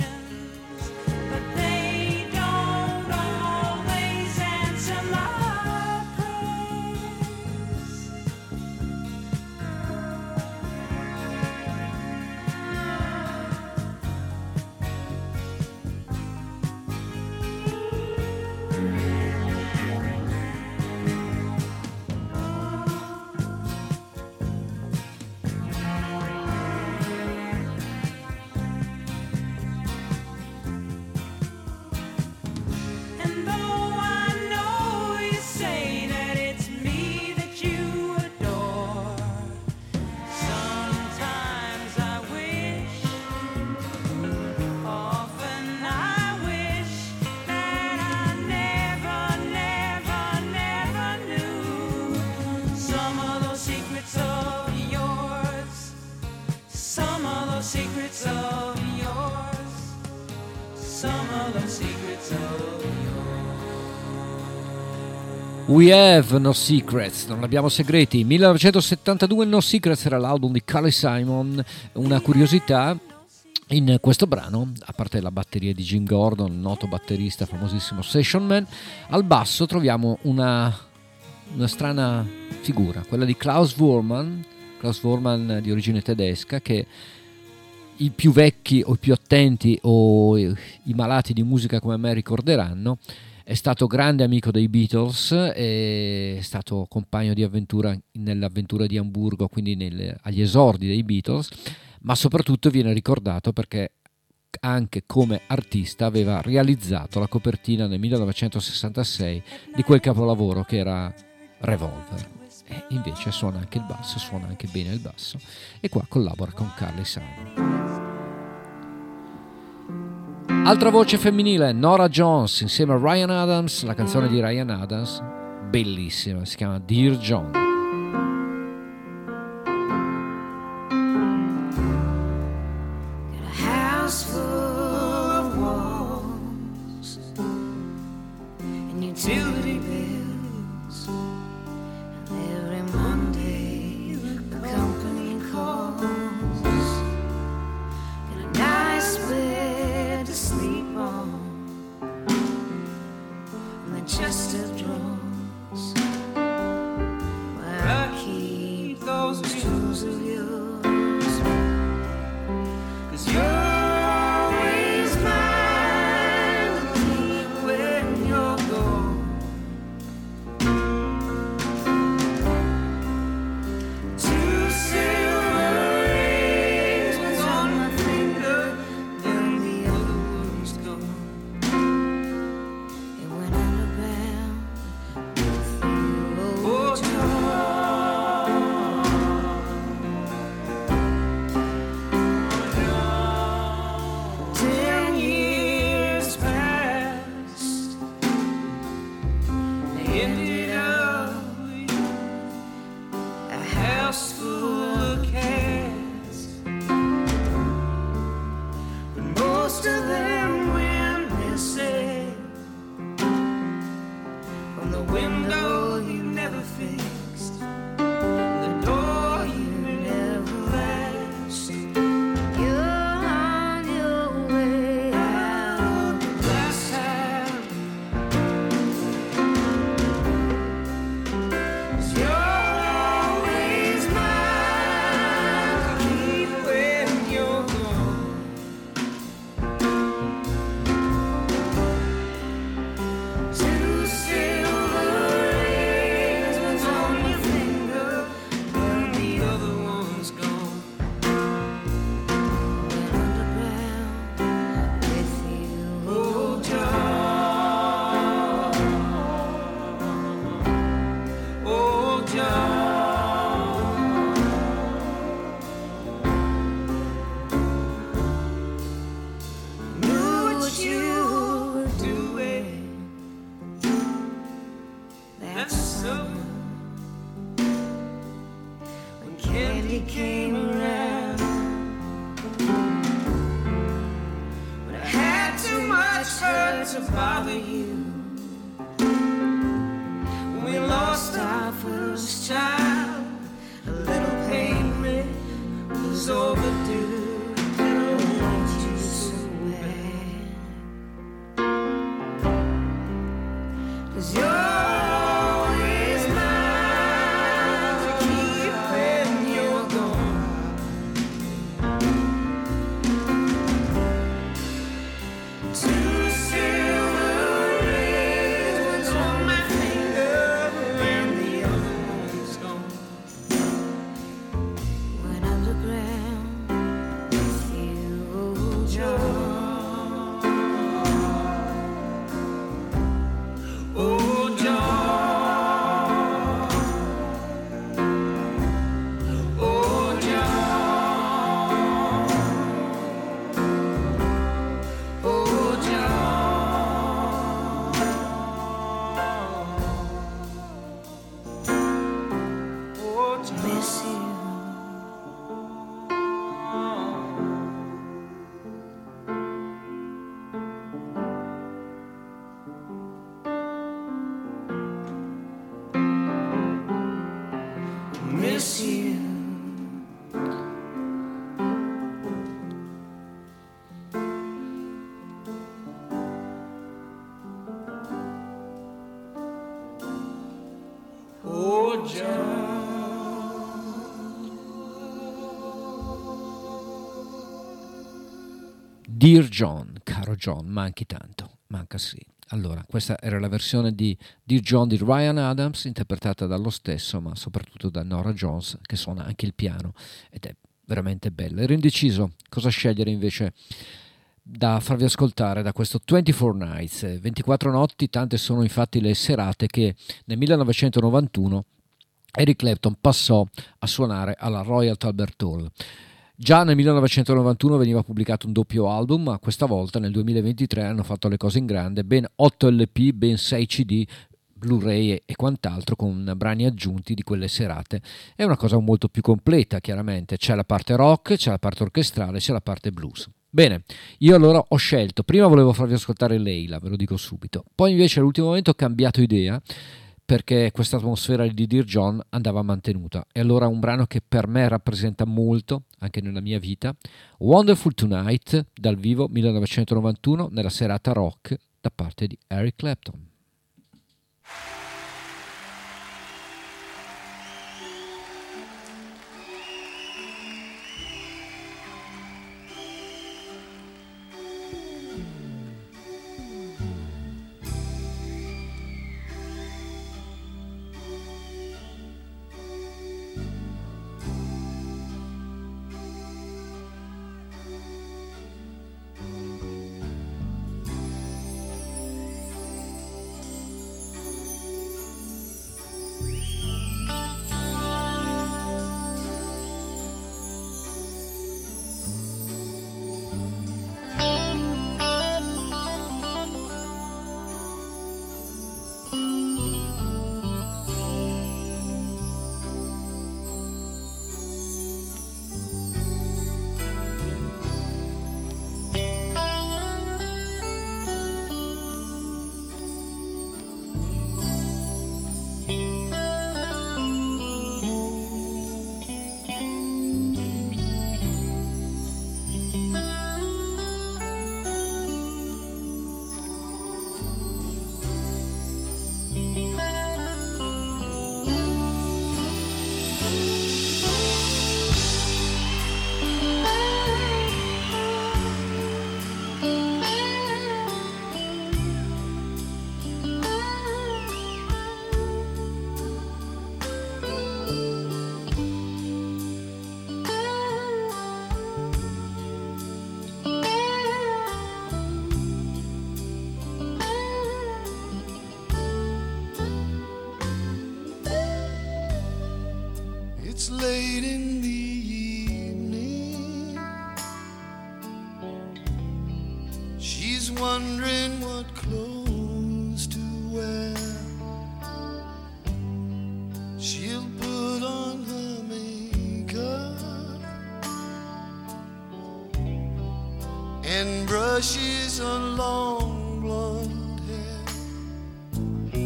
But they don't always answer my We Have No Secrets, non abbiamo segreti. millenovecentosettantadue, No Secrets era l'album di Carly Simon. Una curiosità, in questo brano, a parte la batteria di Jim Gordon, noto batterista, famosissimo session man, al basso troviamo una, una strana figura, quella di Klaus Voormann, Klaus Voormann di origine tedesca, che i più vecchi o i più attenti o i malati di musica come me ricorderanno. È stato grande amico dei Beatles, è stato compagno di avventura nell'avventura di Amburgo, quindi nel, agli esordi dei Beatles, ma soprattutto viene ricordato perché anche come artista aveva realizzato la copertina nel millenovecentosessantasei di quel capolavoro che era Revolver. E invece suona anche il basso, suona anche bene il basso, e qua collabora con Carly Simon. Altra voce femminile, Norah Jones insieme a Ryan Adams, la canzone di Ryan Adams, bellissima, si chiama Dear John. Got a house full of walls and utility bills, and every Monday the company calls. Got a nice bed to sleep on, and the chest of drawers where I keep those tools of yours, 'cause you're always mine to keep when you're gone. Two silver rings, one's on my finger, then the other one's gone. It went underground with you, oh John. Ten years passed, they ended up a house full of cats, but most of them went missing from the window you never fixed, the door you never latched. You're on your way out of the glass house, 'cause you're always mine to keep when you're gone. Two silver rings, one's on your finger, and the other one's gone. Went underground with you, oh John, oh John. Knew what you were doing that summer when candy came around, but I had too much hurt to bother you. When we lost our first child, a little payment was overdue. I want you so bad, 'cause you're always mine to keep when you're gone. Two silver rings, one's on my finger, and the other one's gone. Went underground miss you. Oh, John. Dear John, caro John, manchi tanto, manca sì. Allora, questa era la versione di Dear John di Ryan Adams, interpretata dallo stesso, ma soprattutto da Norah Jones, che suona anche il piano, ed è veramente bella. Ero indeciso cosa scegliere invece da farvi ascoltare da questo ventiquattro Nights, ventiquattro notti, tante sono infatti le serate che nel millenovecentonovantuno Eric Clapton passò a suonare alla Royal Albert Hall. Già nel millenovecentonovantuno veniva pubblicato un doppio album, ma questa volta nel duemilaventitré hanno fatto le cose in grande, ben otto L P, ben sei C D, Blu-ray e quant'altro, con brani aggiunti di quelle serate. È una cosa molto più completa, chiaramente. C'è la parte rock, c'è la parte orchestrale, c'è la parte blues. Bene, io allora ho scelto, prima volevo farvi ascoltare Leila, ve lo dico subito, poi invece all'ultimo momento ho cambiato idea, perché questa atmosfera di Dear John andava mantenuta, e allora un brano che per me rappresenta molto anche nella mia vita, Wonderful Tonight, dal vivo millenovecentonovantuno, nella serata rock da parte di Eric Clapton. It's late in the evening. She's wondering what clothes to wear. She'll put on her makeup and brushes her long blonde hair,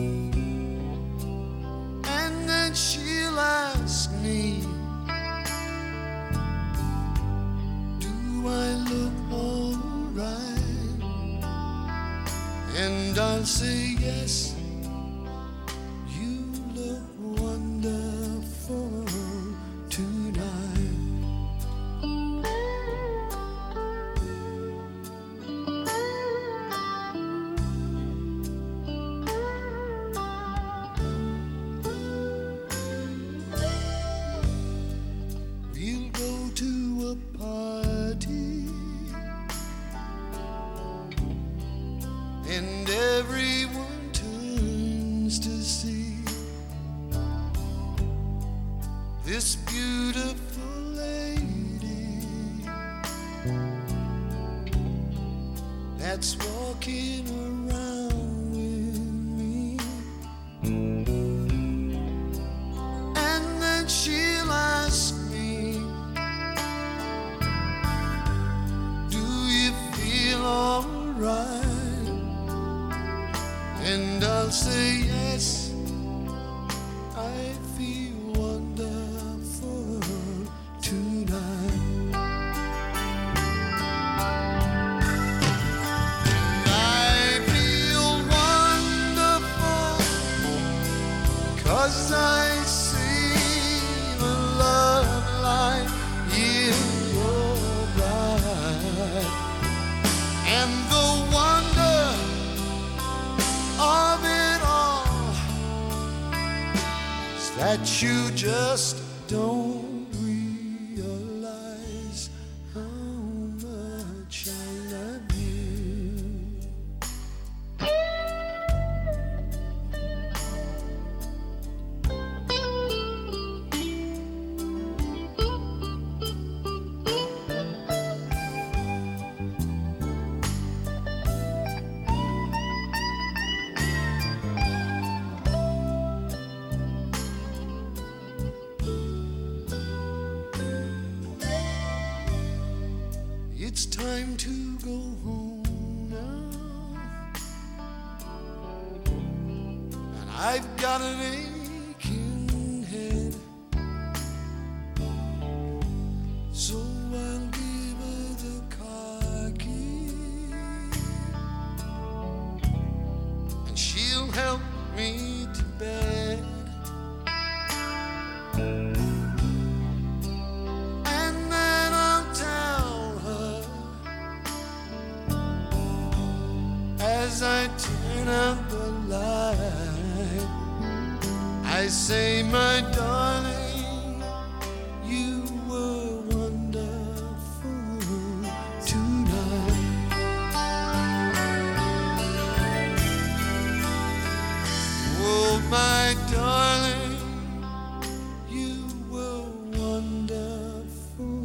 and then she'll ask me, do I look alright? And I'll say yes, you look wonderful tonight. We'll go to a party and everyone turns to see this beautiful lady that's walking around with me. And then she'll ask me, do you feel alright? And I'll say yes, I feel wonderful as I see the love light in your eyes, and the wonder of it all is that you just don't realize how much I love you. It's time to go home now, and I've got an aching head, so I'll give her the car key, and she'll help me to bed. As I turn out the light, I say, my darling, you were wonderful tonight. Oh, my darling, you were wonderful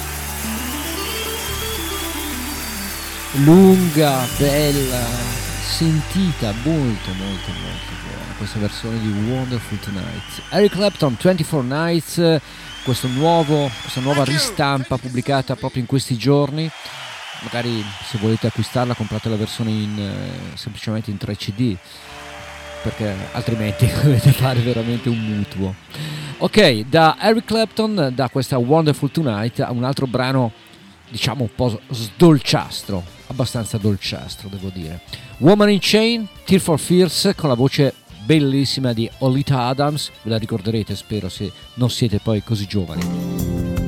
lunga, bella, sentita, molto molto molto buona questa versione di Wonderful Tonight. Eric Clapton, ventiquattro Nights, questo nuovo, questa nuova ristampa pubblicata proprio in questi giorni. Magari se volete acquistarla comprate la versione in, eh, semplicemente in tre C D, perché altrimenti dovete fare veramente un mutuo. Ok, da Eric Clapton, da questa Wonderful Tonight, a un altro brano diciamo un po' sdolciastro, abbastanza dolciastro devo dire. Woman in Chain, Tear for Fears, con la voce bellissima di Olita Adams, ve la ricorderete spero se non siete poi così giovani.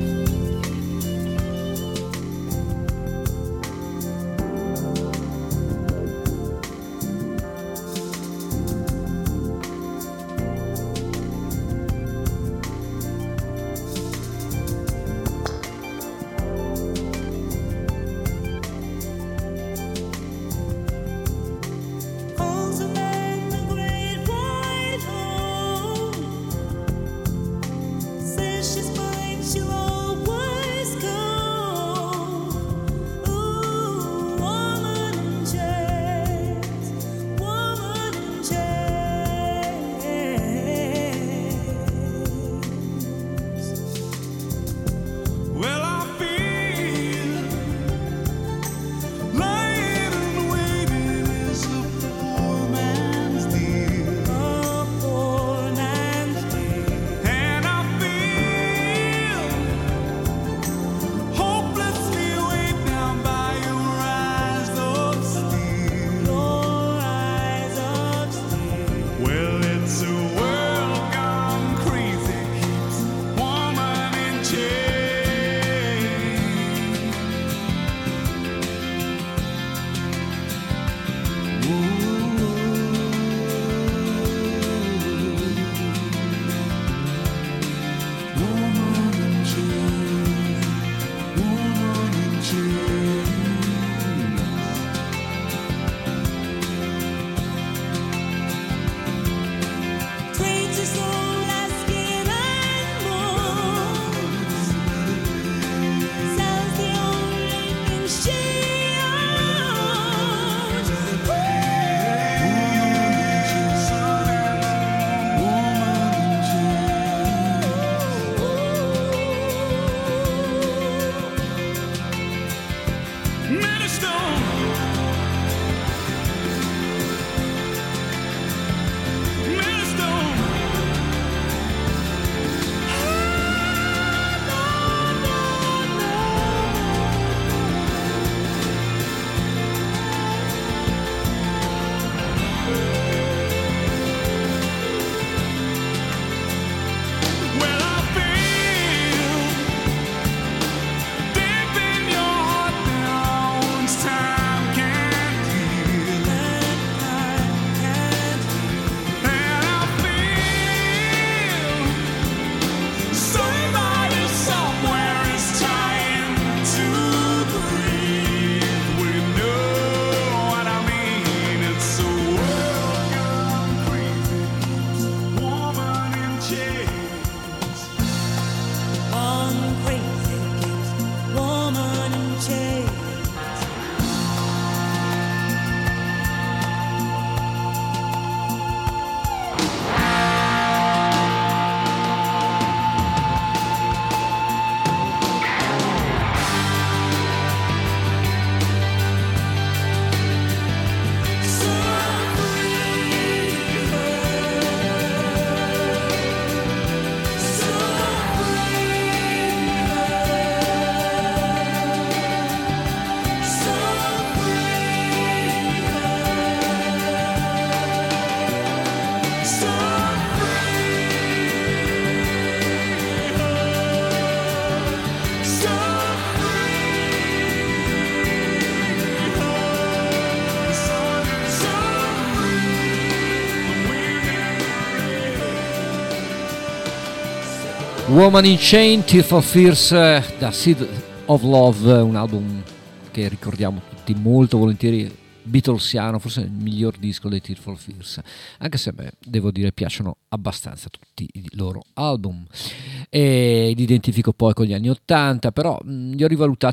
Woman in Chain, Tear for Fears, da Seed of Love, un album che ricordiamo tutti molto volentieri, beatlesiano, forse il miglior disco dei Tear for Fears, anche se a me, devo dire, piacciono abbastanza tutti i loro album, e li identifico poi con gli anni ottanta, però mh, li ho rivalutati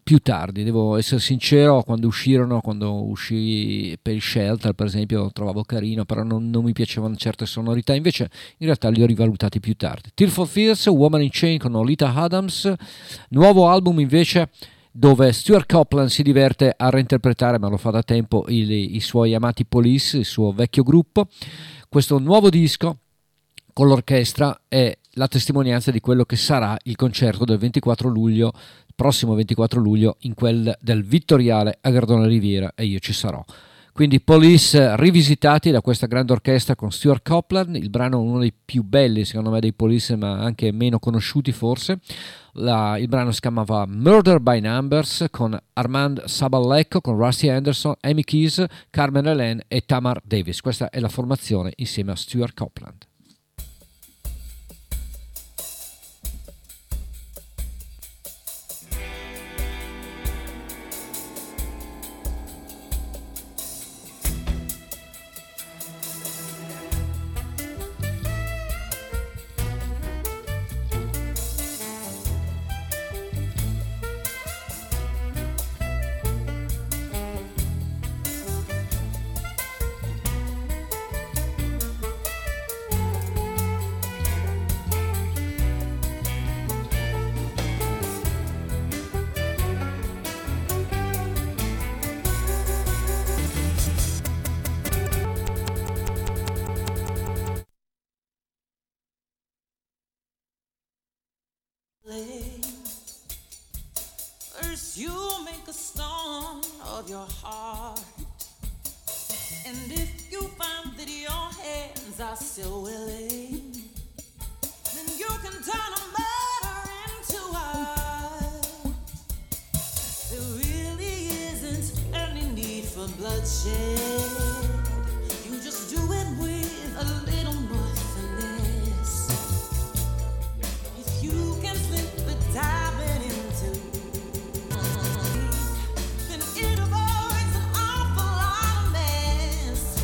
più tardi, devo essere sincero. Quando uscirono, quando uscì per il Shelter per esempio, lo trovavo carino, però non, non mi piacevano certe sonorità, invece in realtà li ho rivalutati più tardi. Tear for Fears, Woman in Chain con Olita Adams, nuovo album invece dove Stuart Copeland si diverte a reinterpretare, ma lo fa da tempo, i, i suoi amati Police, il suo vecchio gruppo. Questo nuovo disco con l'orchestra è la testimonianza di quello che sarà il concerto del ventiquattro luglio, prossimo ventiquattro luglio, in quel del Vittoriale a Gardone Riviera, e io ci sarò. Quindi Police rivisitati da questa grande orchestra con Stuart Copeland, il brano uno dei più belli secondo me dei Police, ma anche meno conosciuti forse. La, il brano si chiamava Murder by Numbers, con Armand Saballecco, con Rusty Anderson, Amy Keys, Carmen Helene e Tamar Davis. Questa è la formazione insieme a Stuart Copeland. First you make a stone of your heart, and if you find that your hands are still willing, then you can turn a murder into art. There really isn't any need for bloodshed. You just do it with a little more finesse. If you can slip the diamond into, then it avoids an awful lot of mess.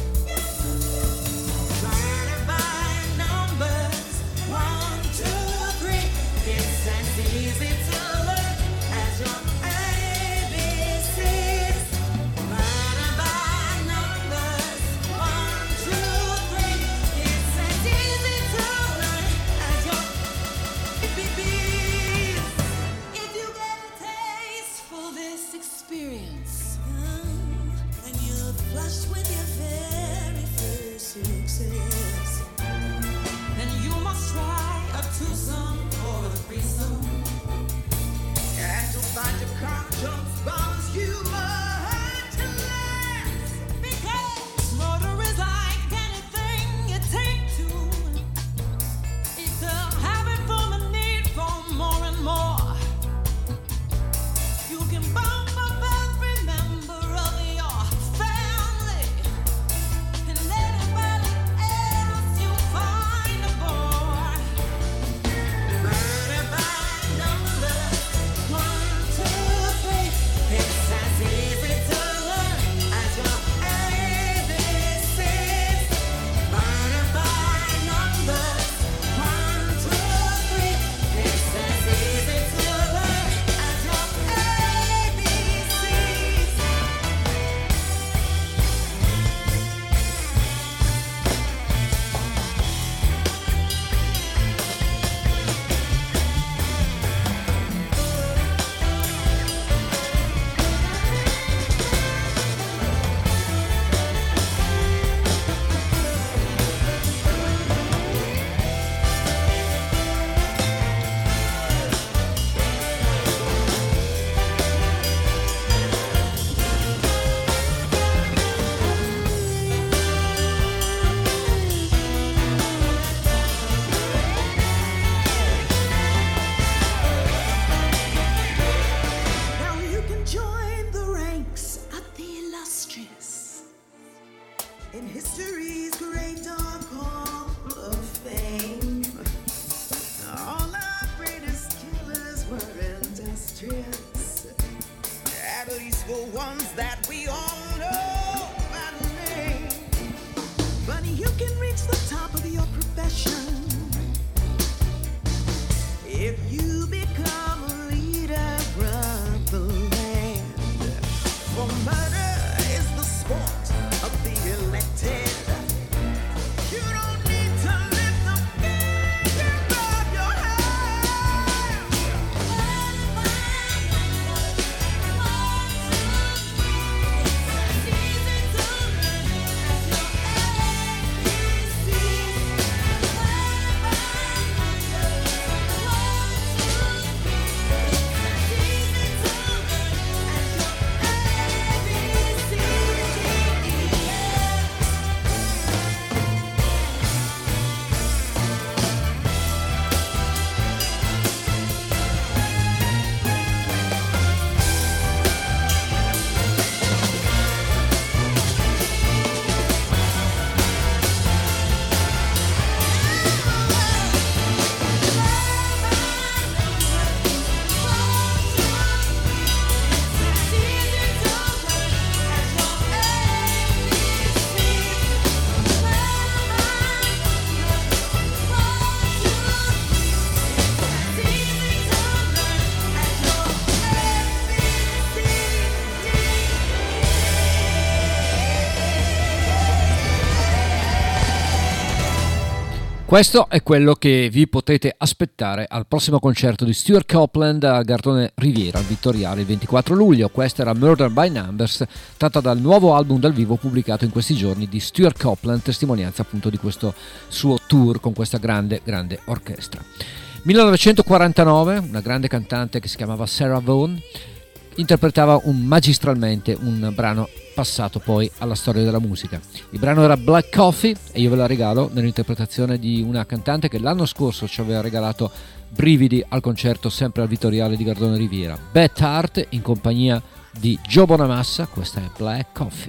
Blinded by numbers, one, two, three. It's as easy to learn as your A B Cs. Blinded by numbers, one, two, three. It's as easy to learn as your A B Cs. If you get a taste for this experience, mm, and you're flushed with your very first success, then you must try a twosome or a threesome, and you'll find your conscience bothers you more to less. Because murder is like anything you take to. It's a habit from a need for more and more. You can bump up every member of your family, and anybody else you find aboard. Murder by numbers, one, two, three. It's as easy to learn as your A B Cs. Murder by numbers, one, two, three. It's as easy to learn as your A B Cs. Now you can join the ranks of the illustrious in history's great dark hall of fame. All our greatest killers were industrious, at least for ones that we all know by name. But you can reach the top of your profession if you become a leader of the land. Questo è quello che vi potete aspettare al prossimo concerto di Stewart Copeland al Gardone Riviera al Vittoriale il ventiquattro luglio. Questa era Murder by Numbers, tratta dal nuovo album dal vivo pubblicato in questi giorni di Stewart Copeland, testimonianza appunto di questo suo tour con questa grande grande orchestra. millenovecentoquarantanove, una grande cantante che si chiamava Sarah Vaughan interpretava un, magistralmente un brano passato poi alla storia della musica. Il brano era Black Coffee e io ve la regalo nell'interpretazione di una cantante che l'anno scorso ci aveva regalato brividi al concerto sempre al Vittoriale di Gardone Riviera, Beth Hart in compagnia di Joe Bonamassa. Questa è Black Coffee.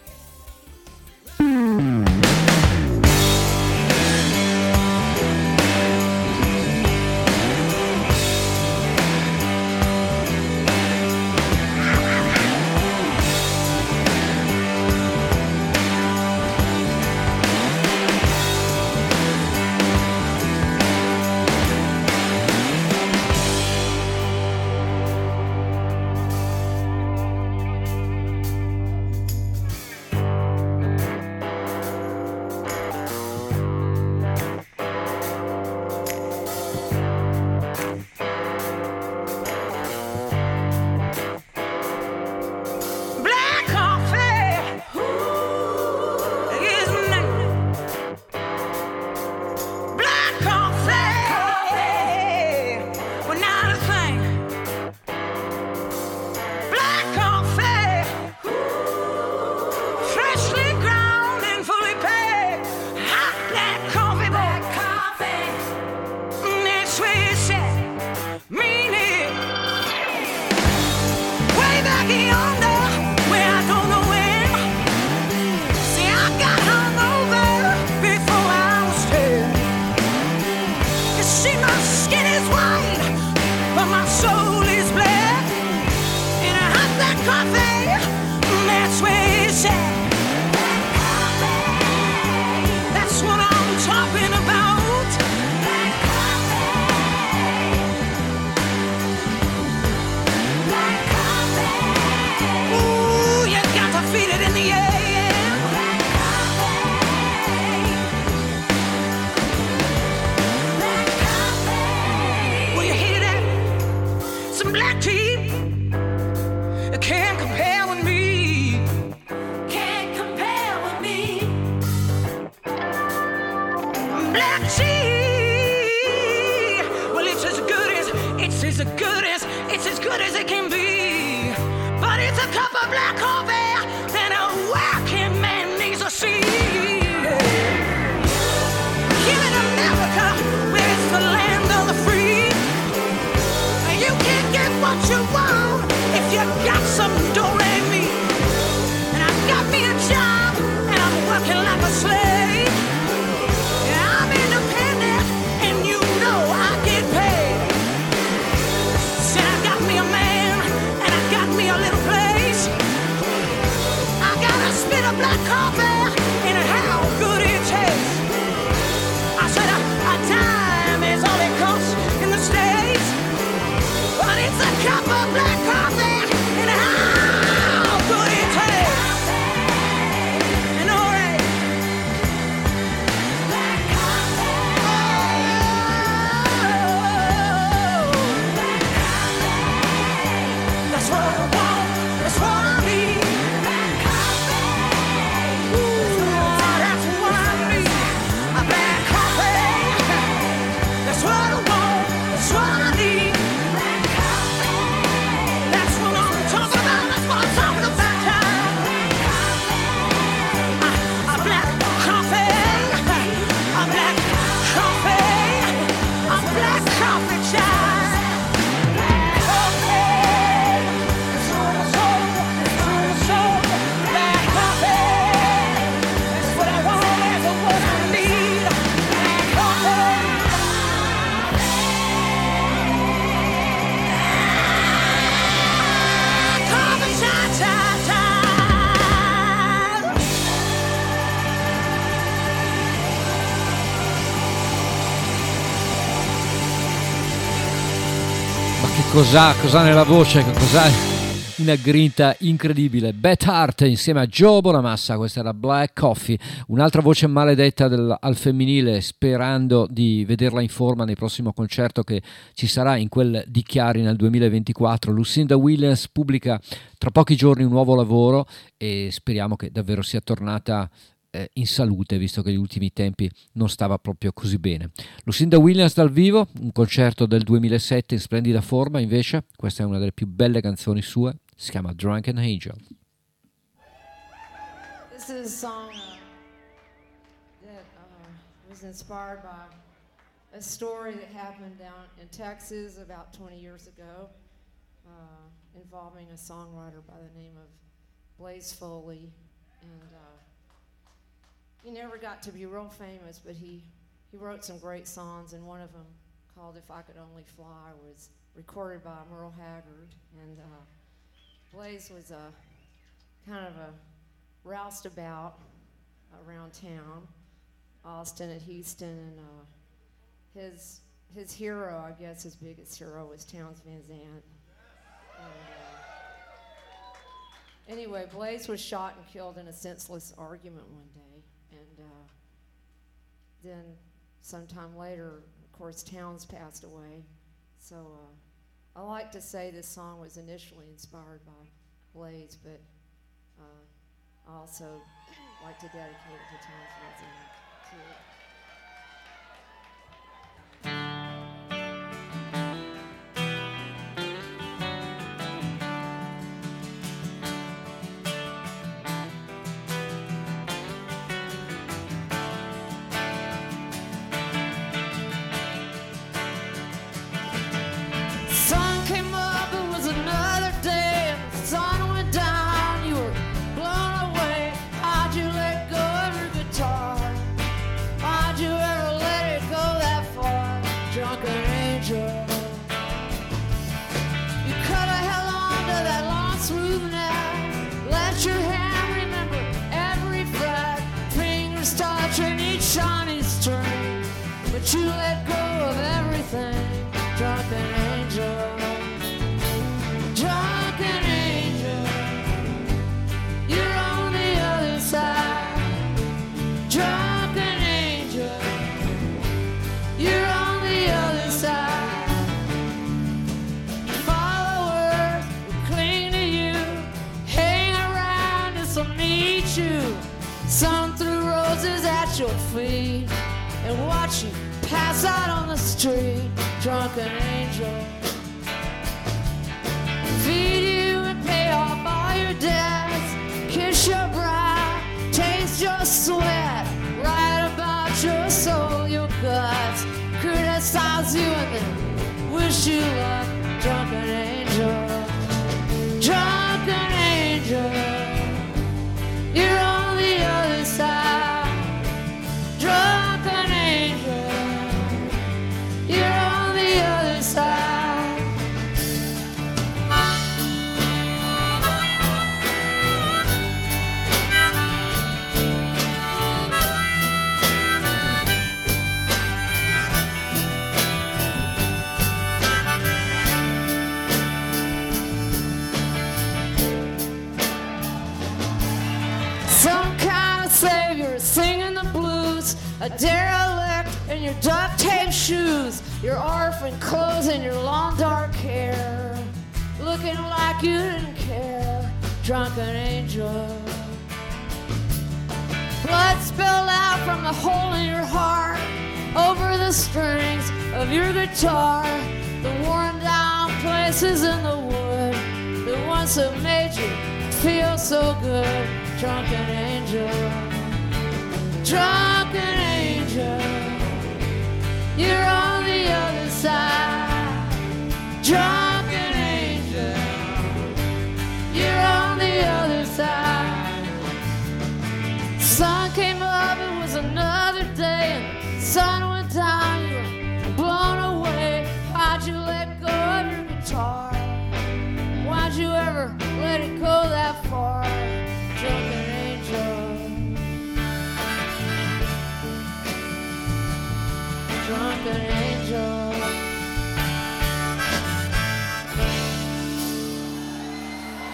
Cos'ha, cos'ha nella voce, cos'ha una grinta incredibile. Beth Hart insieme a Joe Bonamassa, questa era Black Coffee, un'altra voce maledetta del, al femminile, sperando di vederla in forma nel prossimo concerto che ci sarà in quel di Chiari nel duemilaventiquattro. Lucinda Williams pubblica tra pochi giorni un nuovo lavoro e speriamo che davvero sia tornata in salute, visto che negli ultimi tempi non stava proprio così bene. Lucinda Williams dal vivo, un concerto del duemilasette in splendida forma. Invece questa è una delle più belle canzoni sue, si chiama Drunken Angel. This is a song uh, that uh, was inspired by a story that happened down in Texas about twenty years ago, uh, involving a songwriter by the name of Blaze Foley, and uh, he never got to be real famous, but he, he wrote some great songs, and one of them, called If I Could Only Fly, was recorded by Merle Haggard. And uh, Blaze was a kind of a roustabout around town, Austin and Houston, and uh, his his hero, I guess his biggest hero, was Townes Van Zandt. And, uh, anyway, Blaze was shot and killed in a senseless argument one day. And uh, then sometime later, of course, Townes passed away. So uh, I like to say this song was initially inspired by Blaze, but uh, I also like to dedicate it to Townes Van Zandt, too. You let go of everything, drunken angel, drunken angel. You're on the other side, drunken angel. You're on the other side. Followers will cling to you, hang around and some need you. Some threw roses at your feet and watch you pass out on the street, drunken angel. Feed you and pay off all your debts, kiss your brow, taste your sweat, write about your soul, your guts, criticize you and then wish you luck, drunken angel, drunken angel. You're on the other side, drunken angel. You're on the other side. Some kind of savior singing the blues, a derelict in your duct tape shoes, your orphan clothes and your long dark hair, looking like you didn't care, drunken angel. Blood spilled out from the hole in your heart, over the strings of your guitar, the worn down places in the wood, the ones that made you feel so good, drunken angel, drunken angel. You're on the other side, drunken angel. You're on the other side. Sun came up, it was another day, and sun went down, you were blown away. Why'd you let go of your guitar? Why'd you ever let it go that far, drunken angel? Drunken angel.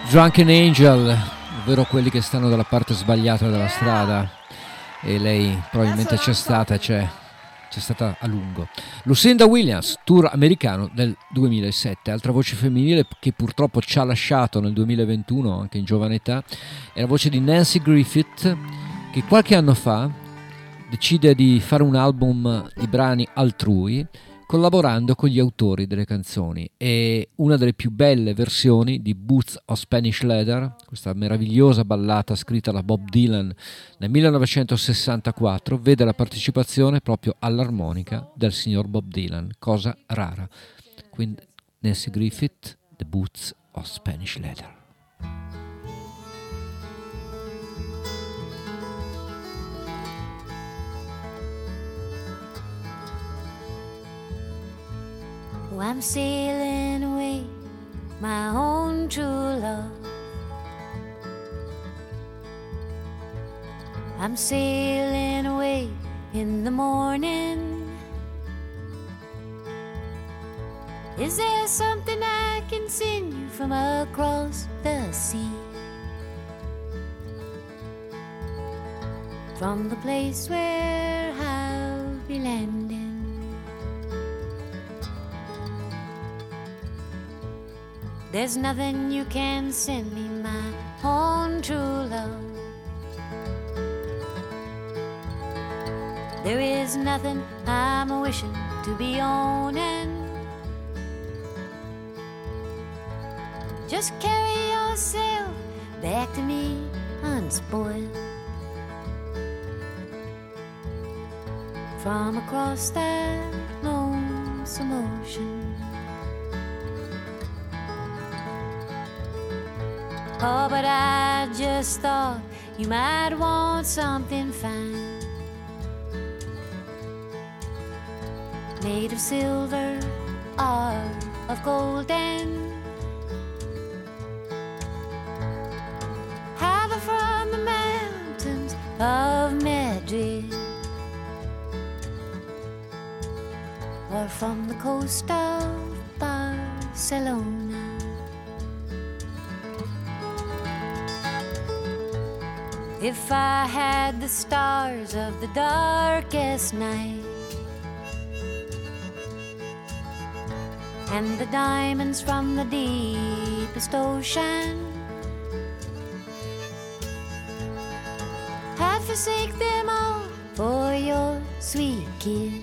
Drunken Angel, ovvero quelli che stanno dalla parte sbagliata della strada, e lei probabilmente c'è stata, c'è, c'è stata a lungo. Lucinda Williams, tour americano del duemilasette, altra voce femminile che purtroppo ci ha lasciato nel duemilaventuno, anche in giovane età, è la voce di Nanci Griffith, che qualche anno fa decide di fare un album di brani altrui, collaborando con gli autori delle canzoni, e una delle più belle versioni di Boots of Spanish Leather, questa meravigliosa ballata scritta da Bob Dylan nel millenovecentosessantaquattro, vede la partecipazione proprio all'armonica del signor Bob Dylan, cosa rara. Quindi Nanci Griffith, The Boots of Spanish Leather. Oh, I'm sailing away, my own true love. I'm sailing away in the morning. Is there something I can send you from across the sea? From the place where I'll be landing. There's nothing you can send me, my own true love. There is nothing I'm wishing to be owning. Just carry yourself back to me unspoiled. From across that lonesome ocean. Oh, but I just thought you might want something fine, made of silver or of golden, either from the mountains of Madrid or from the coast of Barcelona. If I had the stars of the darkest night and the diamonds from the deepest ocean, I'd forsake them all for your sweet kiss.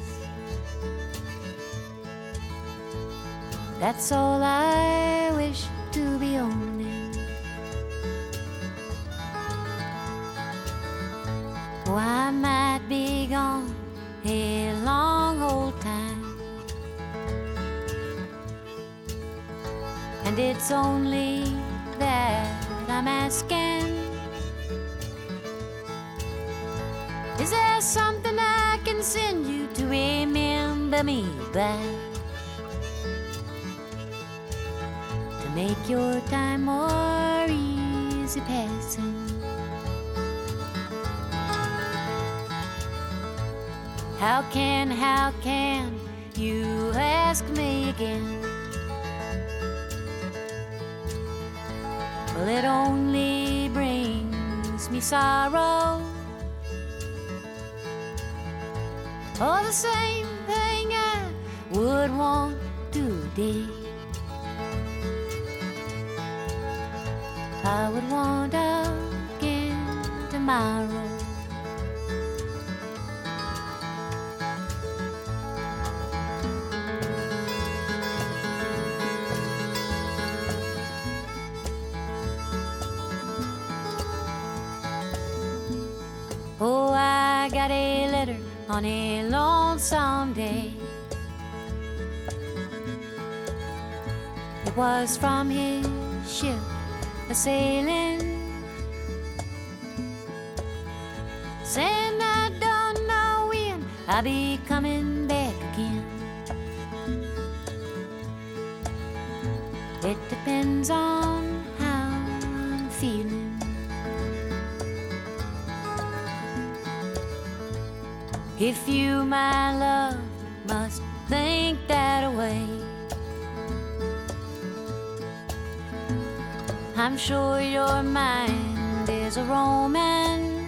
That's all I wish to be owning. Oh, I might be gone a long old time, and it's only that I'm asking. Is there something I can send you to remember me by, to make your time more easy passing? How can, how can you ask me again? Well, it only brings me sorrow. Oh, the same thing I would want today, I would want again tomorrow. Oh, I got a letter on a lonesome day. It was from his ship a-sailing, saying I don't know when I'll be coming back again. It depends on how I'm feeling. If you, my love, must think that away, I'm sure your mind is a roaming.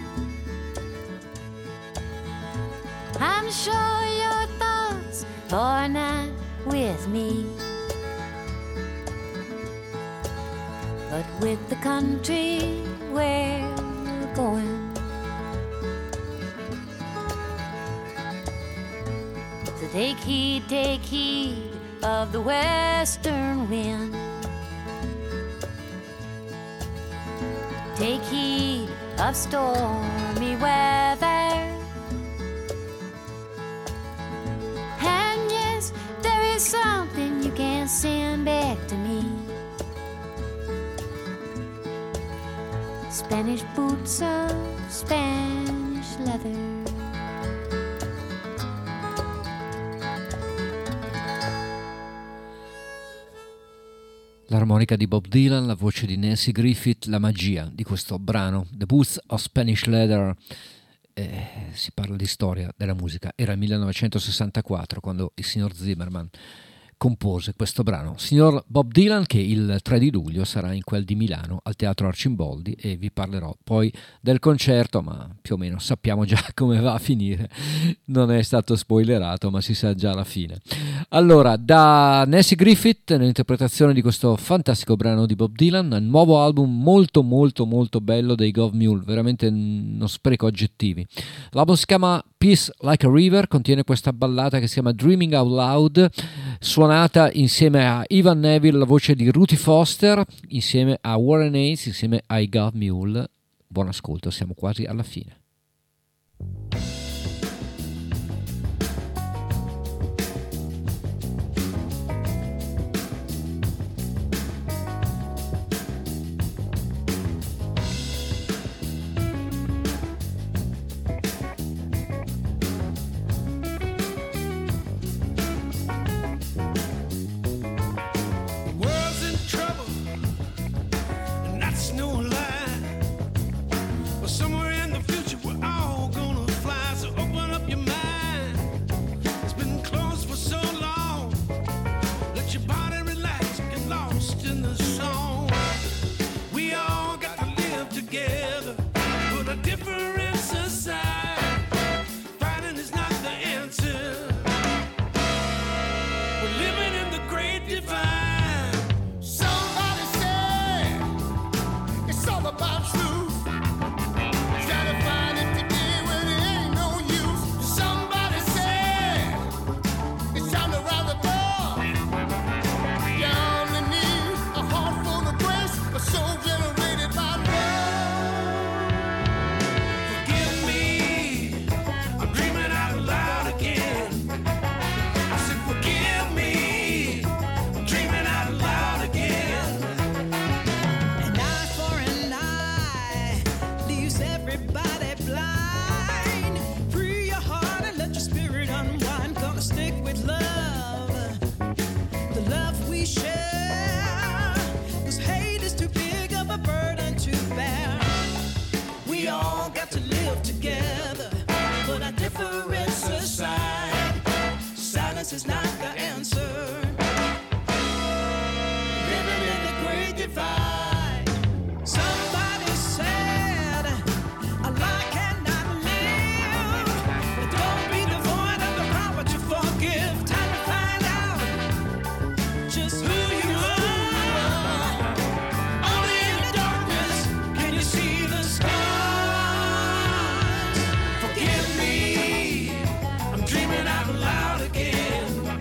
I'm sure your thoughts are not with me, but with the country where we're going. So take heed, take heed of the western wind. Take heed of stormy weather. And yes, there is something you can send back to me. Spanish boots of Spanish leather. L'armonica di Bob Dylan, la voce di Nancy Griffith, la magia di questo brano, The Boots of Spanish Leather. Eh, si parla di storia della musica. Era il millenovecentosessantaquattro quando il signor Zimmerman compose questo brano. Signor Bob Dylan, che il tre di luglio sarà in quel di Milano al Teatro Arcimboldi, e vi parlerò poi del concerto, ma più o meno sappiamo già come va a finire. Non è stato spoilerato, ma si sa già la fine. Allora, da Nancy Griffith nell'interpretazione di questo fantastico brano di Bob Dylan, un nuovo album molto molto molto bello dei Gov Mule, veramente non spreco aggettivi. L'album si chiama Peace Like a River, contiene questa ballata che si chiama Dreaming Out Loud, suonata insieme a Ivan Neville, la voce di Ruthie Foster, insieme a Warren Haynes, insieme ai Gov Mule. Buon ascolto, siamo quasi alla fine. Is not the answer. Living in the great divide. Somebody said a lie cannot live. But don't be devoid of the power to forgive. Time to find out just who you are. Only in the darkness can you see the stars. Forgive me, I'm dreaming out loud again.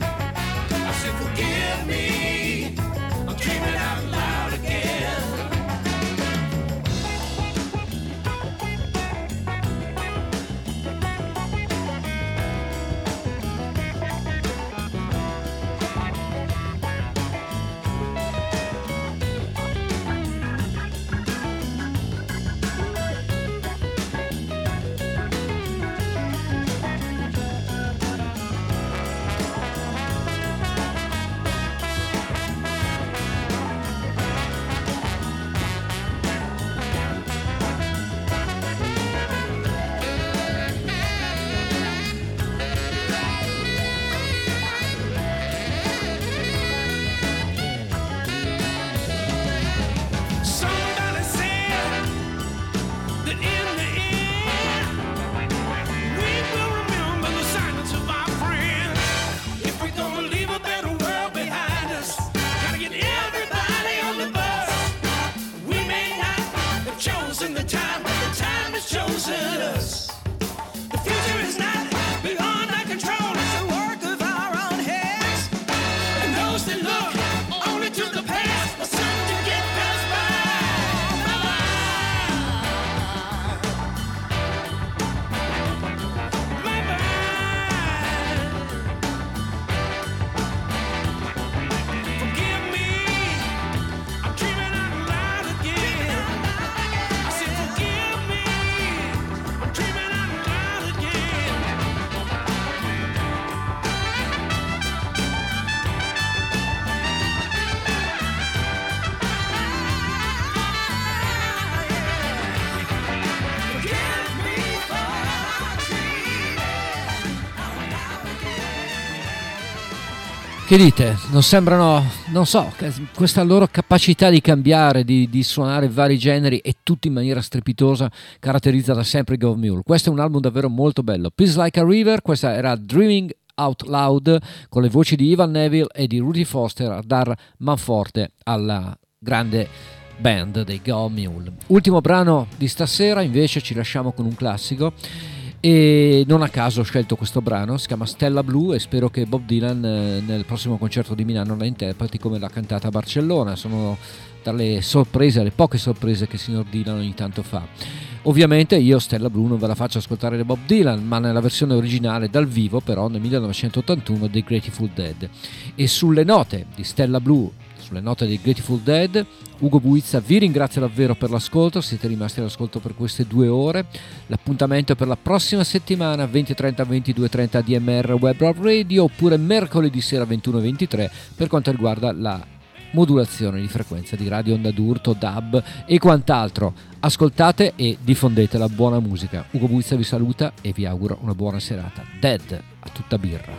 Che dite? Non sembrano, non so, questa loro capacità di cambiare, di, di suonare vari generi e tutto in maniera strepitosa caratterizza da sempre Gov Mule. Questo è un album davvero molto bello. Peace Like a River, questa era Dreaming Out Loud con le voci di Ivan Neville e di Rudy Foster a dar manforte alla grande band dei Gov Mule. Ultimo brano di stasera, invece ci lasciamo con un classico. E non a caso ho scelto questo brano, si chiama Stella Blu e spero che Bob Dylan eh, nel prossimo concerto di Milano la interpreti come l'ha cantata a Barcellona. Sono tra le sorprese, le poche sorprese che il signor Dylan ogni tanto fa. Ovviamente io Stella Blu non ve la faccio ascoltare da Bob Dylan, ma nella versione originale dal vivo però nel millenovecentottantuno dei Grateful Dead. E sulle note di Stella Blu, sulle note dei Grateful Dead, Ugo Buizza vi ringrazio davvero per l'ascolto, siete rimasti all'ascolto per queste due ore. L'appuntamento è per la prossima settimana, venti e trenta ventidue e trenta A D M R Web Radio, oppure mercoledì sera ventuno e ventitré per quanto riguarda la modulazione di frequenza di Radio Onda d'Urto, D A B e quant'altro. Ascoltate e diffondete la buona musica. Ugo Buizza vi saluta e vi auguro una buona serata. Dead a tutta birra.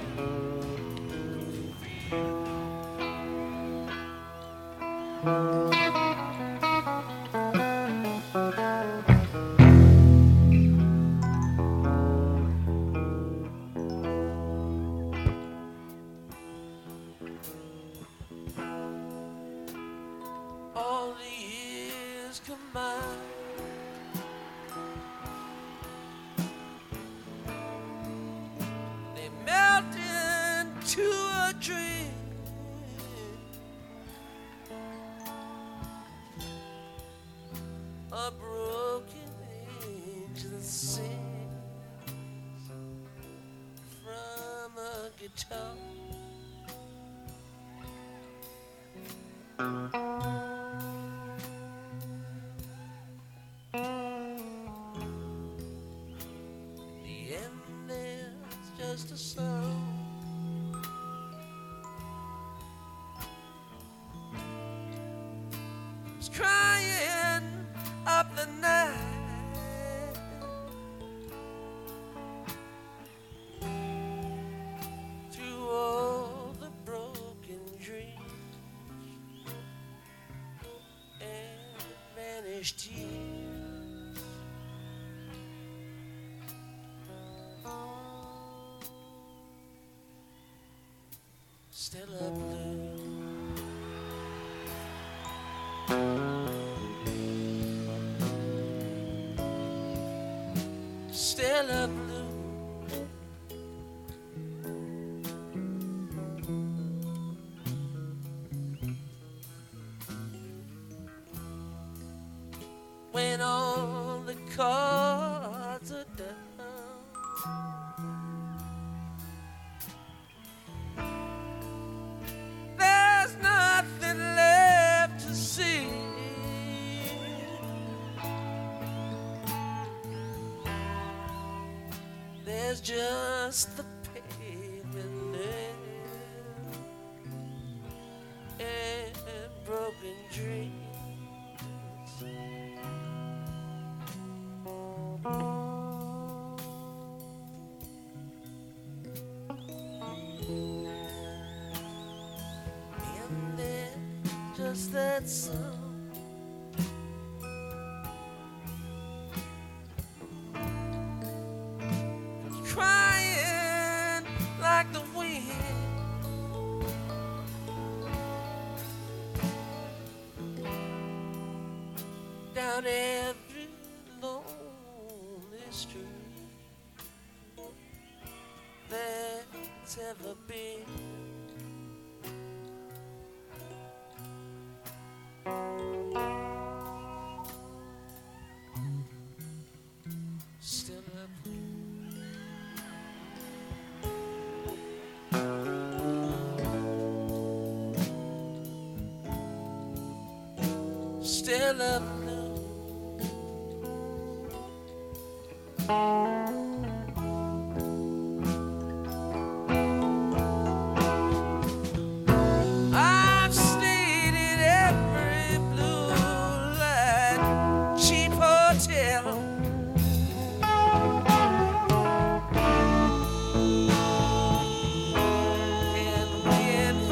All the years combined, they melt into a dream. A broken angel sings from a guitar. The end is just a song. It's crying up the night, through all the broken dreams and vanished tears. Stella Blue. Stella Blue. When all the cards are down, there's nothing left to see. There's just the pavement and broken dreams. And then just that song. Crying like the wind down every lonely street that's ever been. Still up. Stella Blue. I've stayed in every blue light cheap hotel. And when